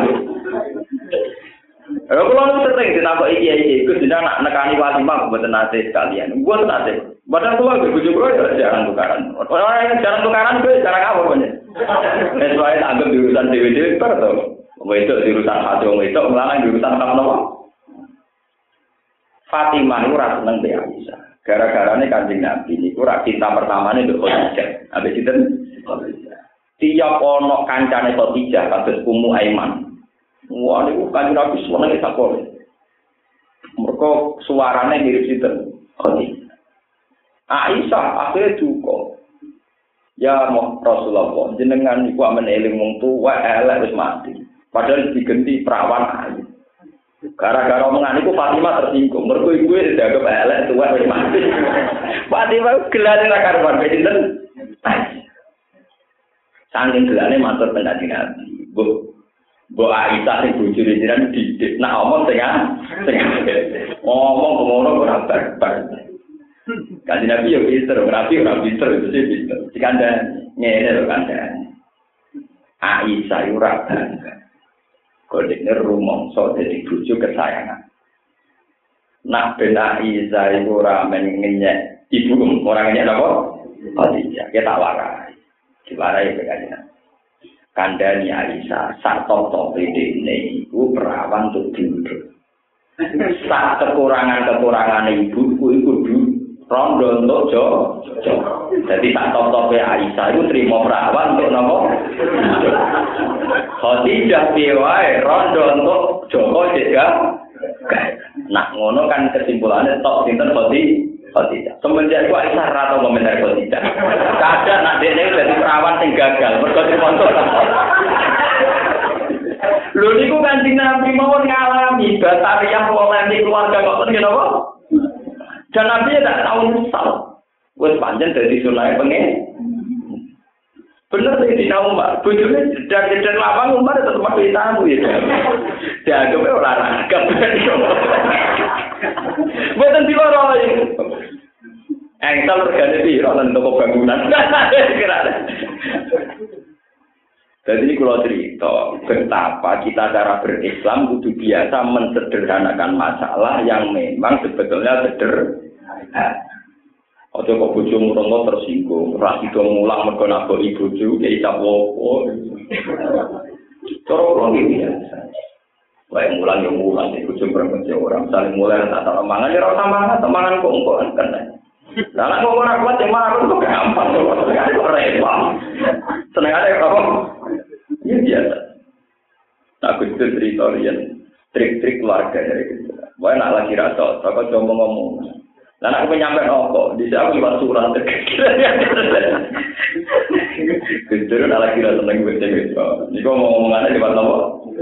Kalau kalau sering ditakoki iki iki Gus nak nekani Fatimah mboten nate sekalian. Mboten nate. Padahal kula ge bojo kula ya jarang tukaran. Ora yang jarang tukaran kuwi jarang apa punya. Wis wae anggap diurusan dhewe-dhewe per to. Wedok diurusan hati wong wedok, lanang diurusan apa napa? Fatimah ora seneng mbek Aisyah. Gara-garane Kanjeng Nabi niku ora cinta pertamane mbek Khadijah. Ambek sinten? Khadijah. Tiap ana kancane Khadijah kados Ummu Aiman. Wah niku Kanjeng Nabi senenge sakore. Mergo suarane mirip sinten? Khadijah. Aisyah akhire duka. Ya Rasulullah, jenengan niku amen eling wong tuwa elek wis mati. Padahal digenti perawan ayu. Gara-gara omongan itu Fatimah tersinggung. Mergo ibu wis dianggap elek tuwa wis mati. Fatimah gelane ra karuan pinten. Saking gelane matur pendhati Nabi. Bu Bu Aisyah sing bojone jenengan didik. Nak omong sing sing ngomong ngono ora barbar. Kanjeng Nabi yo pinter, rapi ora pinter itu sih pinter. Dikandani ngene lho kandhane. Aisyah ora bangga. Kodene rumangsa dadi bojo kesayangan. Nak ben Aisyah iku ora men ngenyek ibu ora ngenyek napa? Khadijah, kita warai. Diwarai kanjeng. Kandhani Aisyah sak top-top dene iku perawan untuk diurut. Sak kekurangan-kekurangan ibu iku kudu rondo untuk jo. Jadi sak top-top Aisyah itu terima perawan untuk napa? Khadijah piye rondo untuk Joko juga. Nah, ngono kan kesimpulannya tok sinten Khadijah. Semenjak iku Aisyah ra tau komentar Khadijah. Kadang nak dene dadi perawan sing gagal, mergo dimontor. Lho niku Kanjeng Nabi mawon ngalami batariah polemik keluarga kok ngene apa? Dan Nabi tak tahu nyesal. Wis pancen dadi sunah pengen. Bener sih di Umar, bojone jedar-jedar lapang Umar tetep mati tamu ya. Dianggap ora ragam. Boten diloro iki. Engsel regane piro nang toko bangunan. Jadi ini kalau cerita betapa kita cara berislam kudu biasa mensederhanakan masalah yang memang sebetulnya sederhana. Ojo kok bojomu rono tersinggung, ra sido mulang mergo nabok ibu bojo ya isa apa. Cara kula iki biasa. Wae mulang yo mulang iku bojo perempuan orang saling mulai tak tak mangan ya ora mangan, mangan kok engko kan. Lah nek kok ora kuat ya marung kok gampang kok repot. Senengane apa? Ya biasa. Aku itu cerita rian trik-trik keluarga dari gitu. Wae nak lagi rasa, kok coba ngomong. Lah aku nyampe opo, di aku liwat surat terkecil. Kemudian ala kira seneng baca gitu. Niku ngomong-ngomongan liwat apa?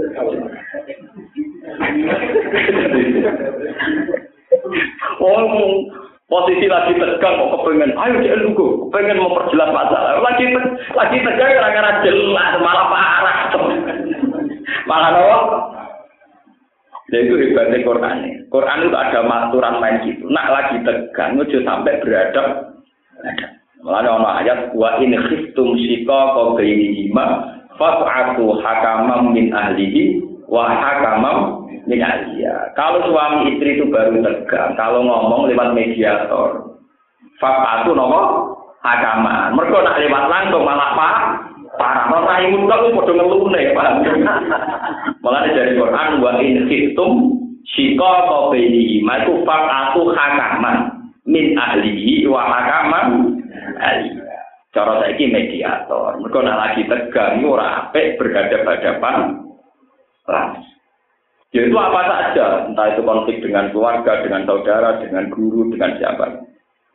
Oh, posisi lagi tegang kok kepengen, ayo dia lugu, kepengen memperjelas masalah. Lagi lagi tegang gara-gara jelas malah parah. Malah apa? Itu hebatnya Quran. Quran itu ada aturan main gitu. Nak lagi tegang, itu sampai beradab. Malah ada ayat wa in khiftum shiqaqa bainihima fa'atu hakamam min ahlihi wa hakamam min ahliha. Kalau suami istri itu baru tegang, kalau ngomong lewat mediator, fa'atu nopo hakaman. Mergo nak lewat langsung malah pak parah. Ora imun kok padha ngelune, Pak. Malah dari Quran wa in khiftum Sika qabaini iku faqatu hakaman min ahlihi wa hakaman ahli. Cara saiki mediator. Mergo nek lagi tegang ora apik berhadapan-hadapan. Langsung. Yaitu apa saja, entah itu konflik dengan keluarga, dengan saudara, dengan guru, dengan siapa.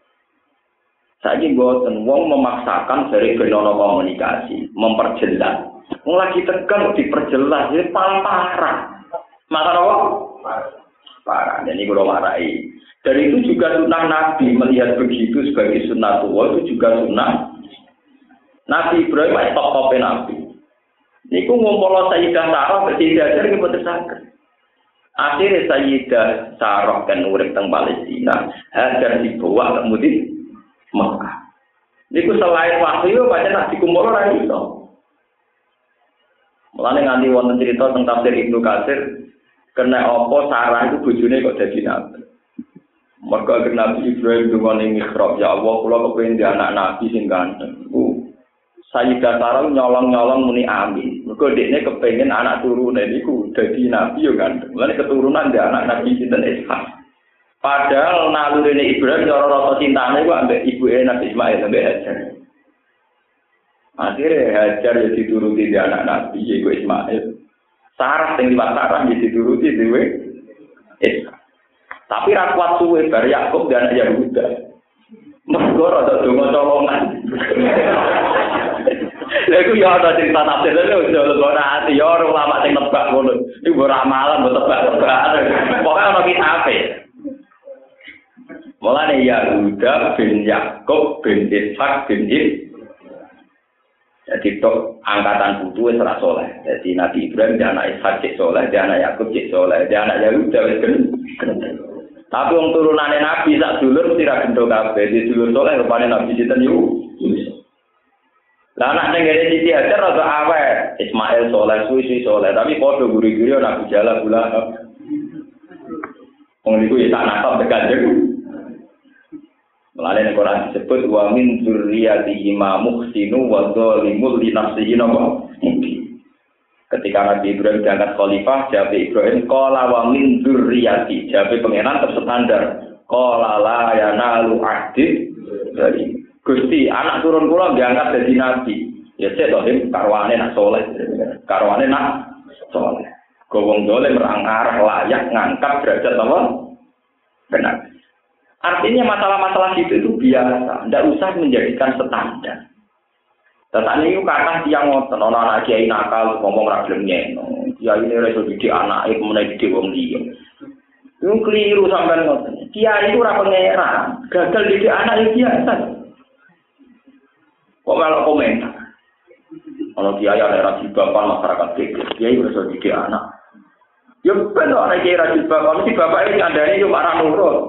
Saiki mboten wong memaksakan dari benono komunikasi, memperjelas. Wong lagi tegang diperjelas, ini paling parah. Maka apa? Parah. Dan ini kalau warai. Dan itu juga sunnah Nabi melihat begitu sebagai sunnah tua itu juga sunnah Nabi Ibrahim itu top-topnya Nabi. Ini ngumpul Sayyidah Sarah bersih ajar ini betul sakit. Akhirnya Sayyidah Sarah kan urip teng Palestina, hajar dibawa kemudian Mekah. Ini selain wahyu baca Nabi kumpul orang itu. Mulane nganti wonten cerita tentang tafsir Ibnu Katsir kena apa Sarah itu bojone kok dadi nabi. Mergo Nabi Ibrahim dungane mihrab, ya Allah kula kepengin di anak nabi sing ganteng. Uh, Sayyidah Sarah nyolong-nyolong muni amin. Mergo dekne kepengin anak turune niku dadi nabi yo ganteng. Mulane keturunan di anak nabi sinten Ishak. Padahal nalurine Ibrahim cara rasa cintane ku ambek ibuke Nabi Ismail ambek Hajar. Akhirnya Hajar ya dituruti di anak nabi yaiku Ismail. Sarah sing liwat Sarah ya dituruti dhewe Ishak. Tapi ra kuat suwe bar Yakub dan anak Yahuda. Mergo rada donga colongan. Lha iku ya ada cerita tafsir lho ora ati ya ora ulama sing nebak ngono. Iku ora ramalan mbok tebak-tebak. Pokoke ana kitabe. Mulane Yahuda bin Yakub bin Ishak bin Ibrahim. Jadi tok angkatan putu wis ora saleh. Jadi Nabi Ibrahim dia anak Ishak cek saleh, dia anak Yakub cek saleh, dia anak Yahuda wis gendeng. Tapi wong turunane Nabi sak dulur mesti ra gendho kabeh. Di dulur saleh rupane Nabi sinten yo. Lah anak ning ngene Siti Hajar rada awet. Ismail saleh, suwi saleh, tapi padha guri-guri Nabi Jalal bulan. Wong niku ya tak nakal tekan jeng. Melalui Al-Quran disebut wa min dzurriyyatihi ma muhsinu wa dzalimun li nafsihi nawa. Ketika Nabi Ibrahim diangkat khalifah, jawab Ibrahim qala wa min dzurriyyati, jawab pengenan terstandar qala la yanalu ahdi dari Gusti anak turun kula diangkat dadi nabi. Ya sik to him karwane nak saleh, karwane nak saleh. Gowong dole merangar layak ngangkat derajat apa? Benar. Artinya masalah-masalah itu itu biasa, tidak usah menjadikan standar. Tetapi itu kata tiang ngoten, orang anak kiai nakal ngomong ragilnya, kiai ini reso didik anak, itu mulai didik wong dia. Itu keliru sampai ngoten. Kiai itu orang pengeran, gagal didik anak itu biasa. Kok malah komentar? Kalau kiai ada rajin bapak masyarakat kecil, kiai reso didik anak. Ya benar orang kiai rajin bapak, mesti bapak ini ada ini cuma orang nurut.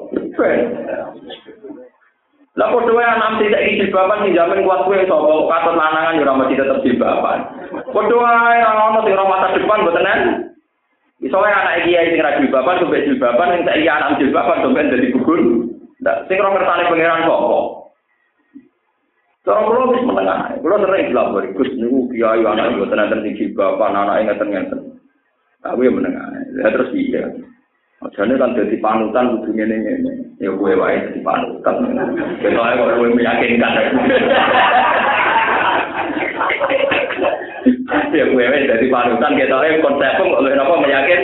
Lah kok dhewe anak tidak iki bapak sing jamin kuat kowe sapa katut lanangan yo ora mesti tetep bapak. Padha wae ana sing ora masa depan mboten kan. Iso wae anak kiai sing ra bapak sampe jilbaban sing saiki anak jilbaban sampe dadi gugur. Ndak sing ora ngertane pangeran sapa. Cara kula wis menengah. Kula sering dilapor Gus niku kiai anak mboten enten sing jilbaban anake ngeten-ngeten. Aku yo menengah. Lah terus iya. Jane kan dadi panutan kudu ngene-ngene. Ya kowe wae dadi panutan. Ketok ae kok kowe meyakinkan. Ya kowe wae dadi panutan ketok ae konsepmu kok napa meyakin.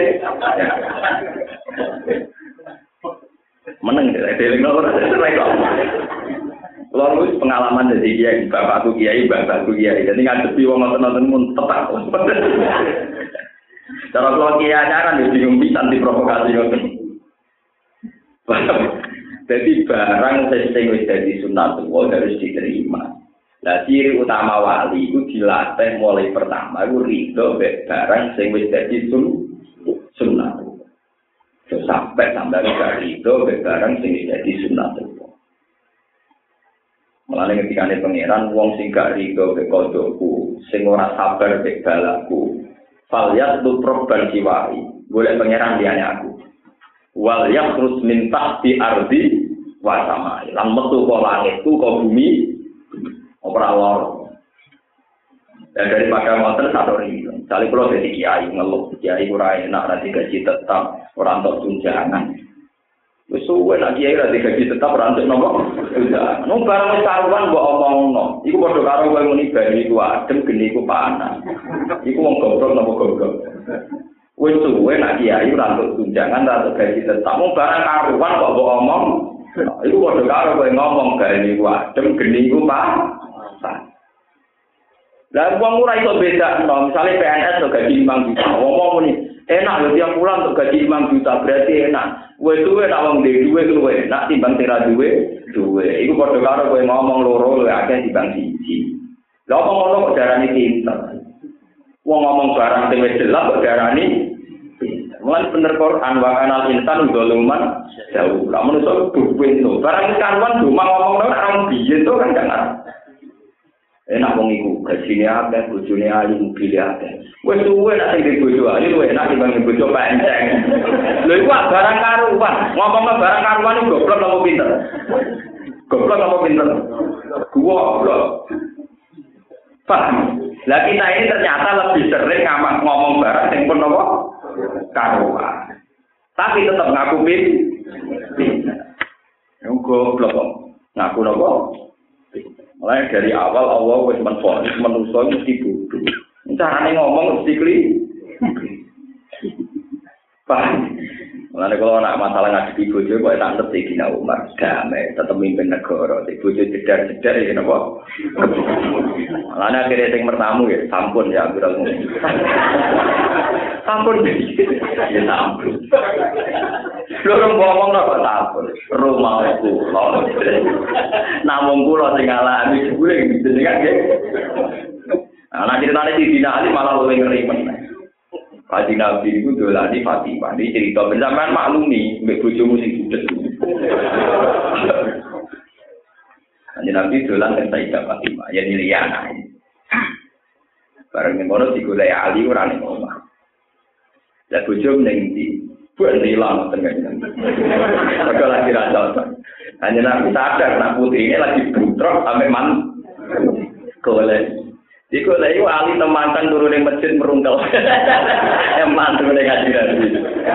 Meneng dhewe ora ora. Kalau wis pengalaman dari kiai, bapakku kiai, bapakku kiai. Jadi ngadepi wong ngoten-ngoten mun tepak. Cara kalau kiai ajaran ya bingung pisan diprovokasi ngoten. Jadi barang sing wis dadi sunatullah harus diterima. Lah ciri utama wali itu dilatih mulai pertama iku rido mek barang sing wis dadi sunatullah. Sampai sampai rido mek barang sing wis dadi sunatullah. Mulane ketika ane pangeran wong sing gak rido mek kodhoku, sing ora sabar mek balakku. Falyat tu proban siwari, boleh pangeran diane aku. Wal yakhrus min tahti ardi wa samai. Lan metu ka langitku ka bumi ora lor. Dan daripada motor satu ribu. Misalnya kalau jadi kiai ngeluh, kiai kurang enak nanti gaji tetap orang untuk tunjangan. Suwe nak kiai nanti gaji tetap orang untuk nomor tunjangan. Nung barang karuan gua omong no. Iku bodoh karo gua muni bari gua adem geni gua panas. Iku wong goblok nopo goblok. Wis suwe nak kiai ora untuk tunjangan ora untuk gaji tetap. Nung barang karuan kok gua omong. Iku bodoh karo gua ngomong gani gua adem geni gua panas. Lah wong ora iso beda, no. Misalnya P N S to gaji lima juta, ngomong muni, enak lho tiap bulan untuk gaji lima juta berarti enak. Wes duwe nak wong duwe duwe luwe, nak timbang tira duwe, duwe. Iku padha karo kowe ngomong loro luwe akeh timbang siji. Lah apa ngono kok darani pinter. Wong ngomong barang sing wis jelas kok darani pinter. Mulane bener Quran wa kanal insan dzuluman jauh. Lah menungso duwe to. Barang karuan cuma ngomong nang biyen to kan jangan. Enak wong iku gajine akeh, bojone ayu, mobil akeh. Wis suwe nek sing bojo ayu luwih enak dibanding bojo penceng. Lho iku barang karuan, ngomongno barang karuan iku goblok apa pinter? Goblok apa pinter? Goblok. Paham? Lah kita ini ternyata lebih sering ngamak ngomong barang sing pun apa? Karuan. Tapi tetap ngaku pinter. Yo goblok kok. Ngaku napa? Mulai dari awal Allah wis menfonis manusa mesti bodoh. Carane ngomong mesti kli. Paham? Mulane kalau nak masalah ngadepi bojo kok tak ngerti Dina Umar damai tetep mimpin negara. Di bojo jedar-jedar ya napa? Mulane akhirnya sing mertamu ya sampun ya Abdul Mumin. Sampun ya sampun. Loro ngomong kok sampun. Rumahku lho. Namung kula sing ngalami jebule jenengan nggih. Ana ceritane di Dina Ali malah luwih ngeri meneh. Kaji Nabi itu dolani Fatimah. Ini cerita bersamaan maklumi mbek bojomu sing judes. Kaji Nabi dolan kan Sayyidah Fatimah, ya Liliana. Bareng ngono digolek Ali ora ning omah. Lah bojomu ning ndi? Buat hilang tengahnya. Maka lagi rasa. Hanya Nabi sadar nak putri ini lagi bentrok sampai man. Golek. Iku lha iku ali temantan turun ning masjid merungkel. Eman turun ning ngaji Nabi.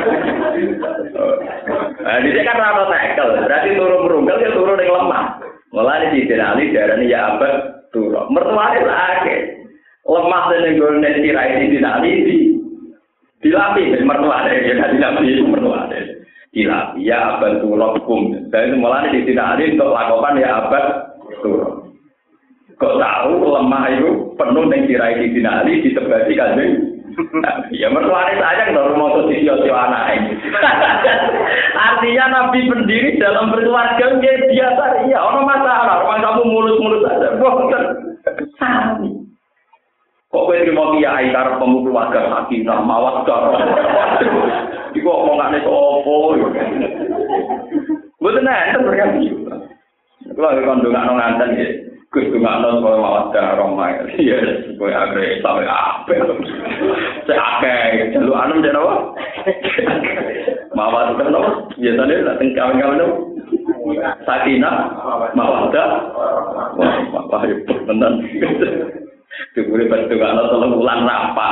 Nah, dia kan rata tekel, berarti turun merungkel ya turun ning lemah. Mulane di Ali darane ya abad turun. Mertuane akeh. Lemah ning gone tirai di Ali di dilapi mertuane ya kan dilapi mertuane. Dilapi ya abad turun hukum. Dan mulane di Ali untuk lakukan ya abad turun. Kok tahu lemah itu penuh dengan tirai di dinali disebati kanjeng. Ya mertuane sayang kalau mau tuh sio-sio anak. Artinya Nabi pendiri dalam berkeluarga dia biasa iya, orang masalah, orang kamu mulus-mulus aja. Boten. Sami. Kok kowe terima kiai karep pemukul keluarga sakinah mawaddah. Iku omongane opo. Mboten enten berarti. Kalau kandungan nganten nggih. Gus tungakno kowe mawaddah romai. Iya, kowe agre sampe ape. Cek akeh jaluk anem jane apa? Mawaddah no. Biasane nek teng kawan-kawan sakinah mawaddah. Wah, ya tenan. Dibure tungakno telung wulan rapat.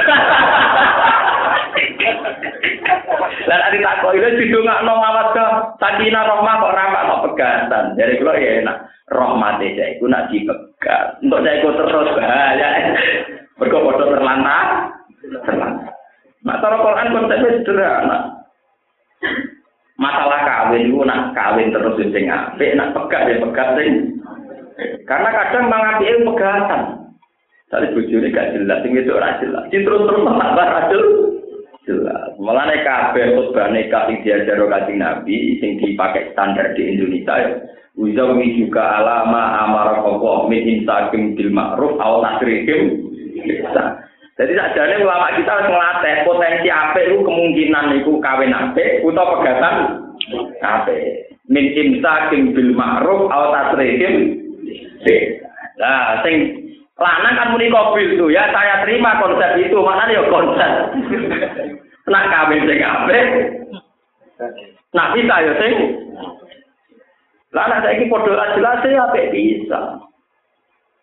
Lan ati takok iki didongakno mawaddah sakinah rahmah kok rapat kok pegatan. Jadi kula ya enak. Rahmate saya iku nak dipegat. Untuk saya iku terus bahaya. Mergo padha terlantar. Terlantar. Nah, cara Quran konsepnya sederhana. Masalah kawin iku nak kawin terus sing apik, nak pegat ya pegat sing. Karena kadang mangapike pegatan. Tadi bojone gak jelas, sing itu ora jelas. Terus-terus tambah rajul. Jelas. Mulane kabeh khutbah nikah sing diajaro Kanjeng Nabi sing dipakai standar di Indonesia ya. Uzawi juga alama amara Allah min insakim bil ma'ruf aw tasrihim. Jadi sakjane ulama kita harus ngelatih potensi apik itu kemungkinan iku kawin apik utawa pegatan apik. Min insakim bil ma'ruf aw tasrihim. Nah, sing lanang kan muni mobil tuh ya saya terima konsep itu, maknanya ya konsep. Nak kawin sing apik. Nak bisa ya sing lah nek saiki padha jelas ya apik bisa.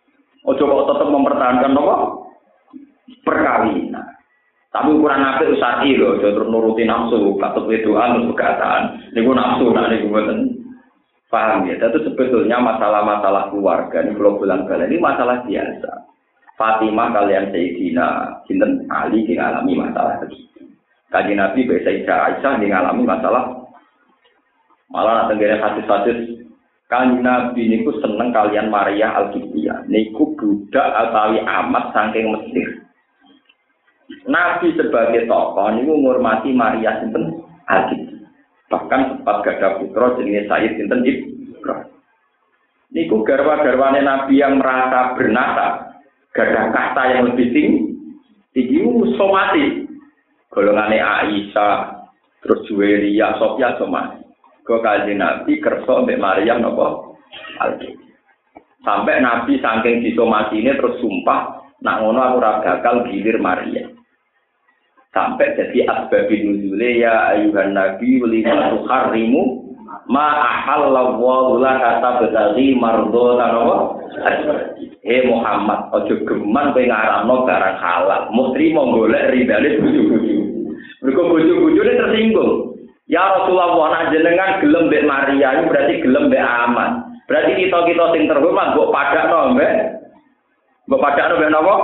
Ojo kok tetap mempertahankan apa? Perkawinan. Tapi ukuran apik usai lho, aja terus nuruti nafsu, katut wedoan terus perkataan. Niku nafsu nak niku mboten. Paham ya? Itu sebetulnya masalah-masalah keluarga ini kalau bulan-bulan ini masalah biasa. Fatimah kalian Sayyidina sinten Ali mengalami masalah begitu. Kanjeng Nabi Sayyidah Aisyah mengalami masalah malah nak tenggene hadis-hadis Kanjeng Nabi niku seneng kalian Maria Al-Qibtiyah. Niku budak atawi amat saking Mesir. Nabi sebagai tokoh niku ngurmati Maria sinten Al-Qibtiyah. Bahkan sempat gadah putra jenenge Sayyid sinten Ibrahim. Niku garwa-garwane Nabi yang merasa bernasab, gadah kasta yang lebih tinggi, tinggi somati. Golongane Aisyah, terus Juwairiyah, Sofia somati. Kok Kanjeng Nabi kersa mbek Maryam napa? Al-Qibtiyah. Sampai Nabi saking disomatine terus sumpah, nak ngono aku ora bakal gilir Maryam. Sampai jadi asbabun nuzule ya ayuhan nabi lima tuharrimu ma ahallallahu laka tabtaghi mardhatan wa eh Muhammad aja geman kowe ngaramno barang halal mesti mau golek ridane bojo-bojo mergo bojo-bojone tersinggung ya Rasulullah ana jenengan gelem mbek Maria itu berarti gelem mbek aman berarti kita-kita sing terhormat mbok padakno mbek mbok padakno mbek napa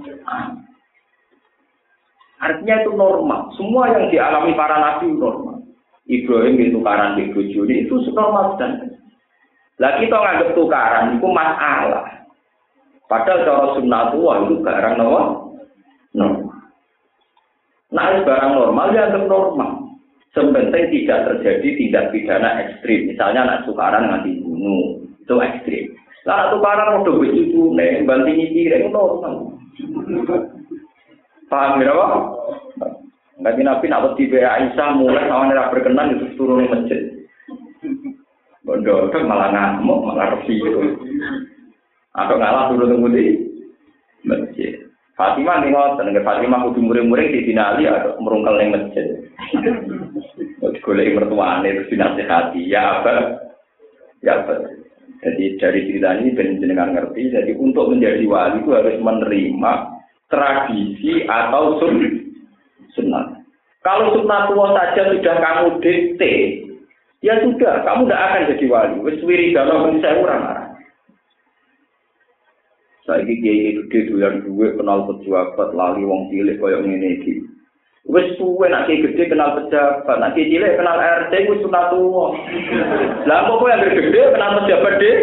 artinya itu normal. Semua yang dialami para nabi normal. Ibrahim itu tukaran di bojone itu normal dan. Lah kita nganggep tukaran itu masalah. Padahal cara sunnatullah itu barang normal. Normal. Nah, barang normal ya anggap normal. Sebenarnya tidak terjadi tindak pidana ekstrim. Misalnya anak tukaran nganti bunuh, itu ekstrim. Lah anak tukaran udah begitu nih, bantingi piring normal. Paham ya apa? Nabi Nabi nak wedi be Aisyah mulai awan ora berkenan itu turun di masjid. Bondo kan malah ngamuk, malah resi itu. Atau ngalah turun di masjid. Fatimah nih ngoten, nek Fatimah kudu muring-muring di dinali atau merungkel ning masjid. Wis golek mertuane terus dinasihati, ya apa? Ya apa? Jadi dari cerita ini ben jenengan ngerti, jadi untuk menjadi wali itu harus menerima tradisi atau sun, sunnah. Kalau sunnatullah saja sudah kamu dikte, ya sudah, kamu tidak akan jadi wali. Wis wiridana ben saya orang arah. Saiki kiai gede doyan duwe kenal pejabat lali wong cilik koyo ngene iki. Wis suwe nek kiai gede kenal pejabat, nek kiai cilik kenal R T wis sunnatullah. Lah kok kowe yang gede kenal pejabat deh?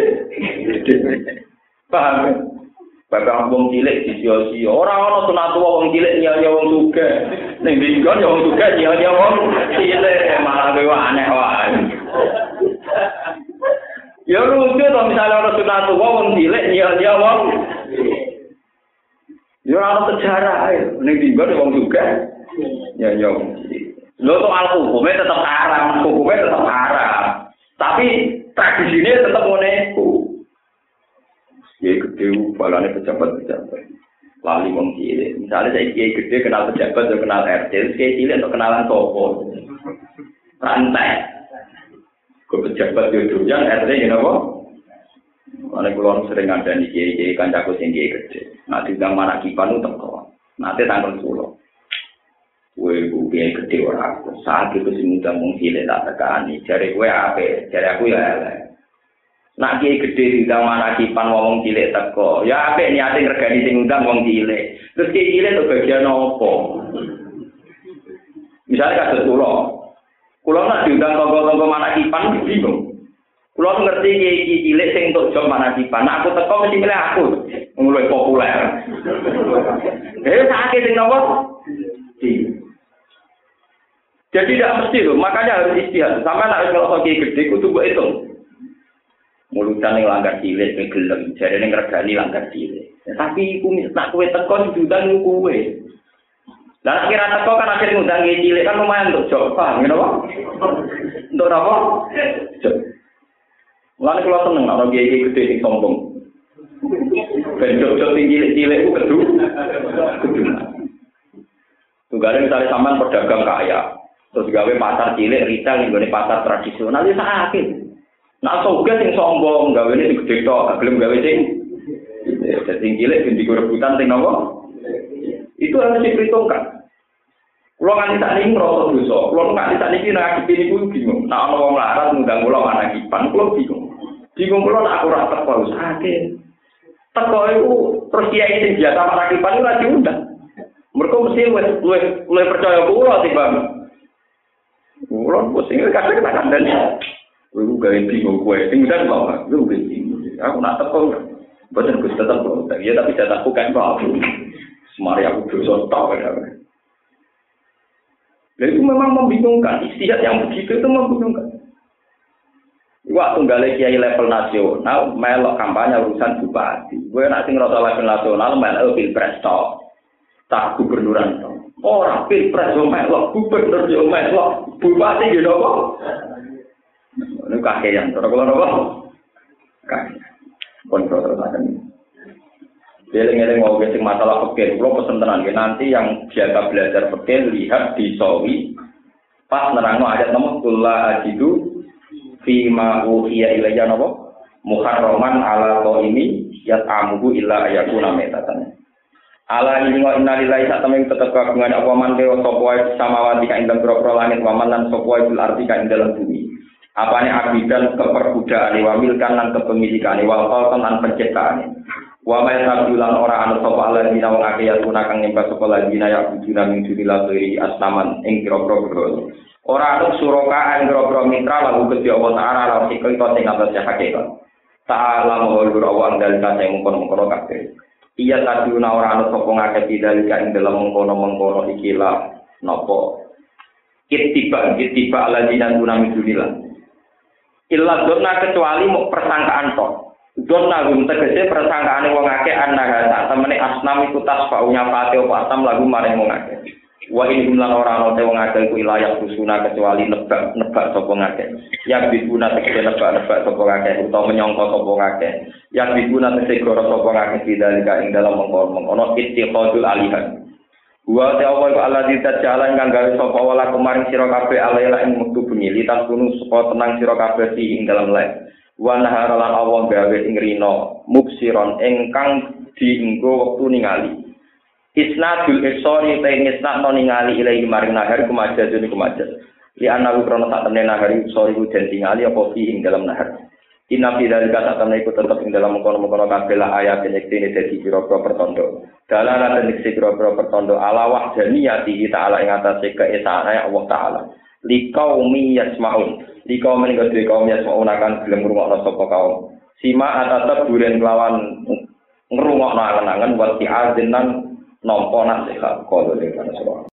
Paham? Bapak wong cilik disio-sio. Ora ana sunatullah wong cilik nyanyi wong sugih. Ning dinggon ya wong sugih nyanyi wong cilik malah kowe aneh wae. Ya lucu to misalnya ana sunatullah wong cilik nyanyi wong. Ya ana sejarah ae. Ning dinggon wong sugih nyanyi wong cilik. Lho to al-hukume tetep haram, hukume tetep haram. Tapi tradisine tetep ngene iku. Kiai gede balane pejabat-pejabat. Lali wong cilik. Misalnya saya kiai gede kenal pejabat atau kenal R T, kiai cilik atau kenalan sopo. Rantai. Ke pejabat jodohnya R T gini apa? Karena kalau sering ada di kiai-kiai kancaku sing kiai gede. Nah diundang mana kipan itu teko. Nanti tanggal sepuluh. Kue kiai gede orang aku. Saat itu sing undang wong cilik tak tekani. Jare kue ape? Jare aku ya elek. Nak kiai gede diundang mana kipan wong cilik teko. Ya apik niate ngregani sing undang wong cilik. Terus kiai cilik itu bagian apa? Misalnya kados kula. Kula nak diundang tonggo-tonggo mana kipan bingung. Kula ngerti kiai cilik sing entuk job mana kipan. Nah, aku teko mesti milih aku. Mulai populer. Eh sakit sing nopo? Jadi tidak mesti loh, makanya harus istihad. Sampai nak kalau kiai gede kudu mbok hitung. Mulutan yang langgar cilik, gelem, jadi yang regani langgar cilik. Ya, tapi aku nak kue teko diundang kue. Dan kira teko kan akhirnya ngundang cilik kan lumayan untuk job, paham ya apa? Untuk apa? Job. Mulane kula seneng ana kiai gede sing sombong. Ben job-job sing cilik-cilik ku kedu. Kedu. Tunggale misalnya sampean pedagang kaya, terus gawe pasar cilik retail ning gone pasar tradisional ya sakit. Nah, sugih sing sombong, gawe ini gede tok, gak gelem gawe sing. gede. Jadi cilik ben digo rebutan sing napa? Itu harus diperhitungkan. Kulo nganti sak niki ngrasa dosa. Kulo nganti sak niki ngadepi niku bingung. Nek ana wong larat ngundang kula ana kipan, kulo bingung. Bingung kulo nek aku ora teko sakit. Teko iku terus kiai sing biasa ana kipan ora diundang. Mergo mesti wis luwih percaya kulo timbang. Kulo pusing kadang tak kandhani. Kulo gawe bingung kowe. Sing udan kok. Kulo bingung. Aku nak teko. Boten Gus tetep kok. Ya tapi saya takutkan kok. Semari aku dosa tok ya. Dan itu memang membingungkan, istihad yang begitu itu membingungkan. Waktu nggak kiai level nasional, melok kampanye urusan bupati. Gue nanti ngerasa level nasional, melok pilpres tok, tak gubernuran tok. Orang pilpres yo melok, gubernur yo melok, bupati gitu kok. Ini kakean, kalau kalau apa? Kakean, kontrol terus. Eling-eling mau ngasih masalah fikih, kalau pesen tenan nanti yang biasa belajar fikih lihat di sawi pas nerangno ayat nomor kula ajidu fi ma uhiya ilayya napa muharraman ala qaimi yat'amuhu illa ayakuna metatan. Ala ini wa inna lillahi satameng tetep kagungan apa man dewa sapa wae samawati ka ing dalem langit wa man lan sapa wae bil ardi ka ing dalem bumi. Apane abidan keperbudaane wa milkan lan kepemilikane wa qalqan lan penciptaane. Wa ma yasabulan ora anu sapa Allah dina wong akeh ya tunakang nyembah sapa ladina ya bujuna min dunillah iri asnaman ing kira-kira bro. Ora anu suraka ing kira-kira mitra lagu Gusti Allah taala lan sikil to sing atas hakikat. Ta'ala mawlur awang dalil sing mungkon-mungkon kabeh. Iya tadiuna ora anu sapa ngakeh dalika ing dalam mengkono-mengkono iki lah napa. Ittiba ittiba ladina duna min dunillah. Illa donna kecuali mau persangkaan tok. Donna gum tegese persangkaane wong akeh annaha sak temene asnam iku tasfaunya pate apa asam lagu maring wong akeh. Wa in lan ora ana wong akeh iku ilayah kusuna kecuali nebak-nebak sapa ngakeh. Ya bibuna tegese nebak-nebak sapa ngakeh utawa menyangka sapa ngakeh. Ya bibuna tegese goro sapa ngakeh didalika ing dalam mengkono-mengkono ittiqadul alihan. Wa ta'ala iku alladzi tajalan kang gawe sapa wala kemaring sira kabeh alaila ing wektu bengi litas kunu supaya tenang sira kabeh ing dalam lek. Wa nahara lan Allah gawe ing rina mubsiron ingkang dienggo wektu ningali. Isnadul isori ta isnadno ningali ilahi maring nahar kumajaz ini kumajaz. Li ana krono sak temene nahar isori ku den tingali apa fi ing dalam nahar. Inna fi dzalika sak temene iku tetep ing dalam mengkono-mengkono kabeh la ayat yektine dadi pira-pira pertondo. Dalalan lan ing pira-pira pertondo ala wahdaniyati ta'ala ing atase keesane Allah taala. Liqaumi yasmaun liqaum menika dhewe kaum yasmaun akan gelem ngrungokno sapa kaum sima atatep buren kelawan ngrungokno angen-angen wa ti'azinan nampa nasihat kalau dengan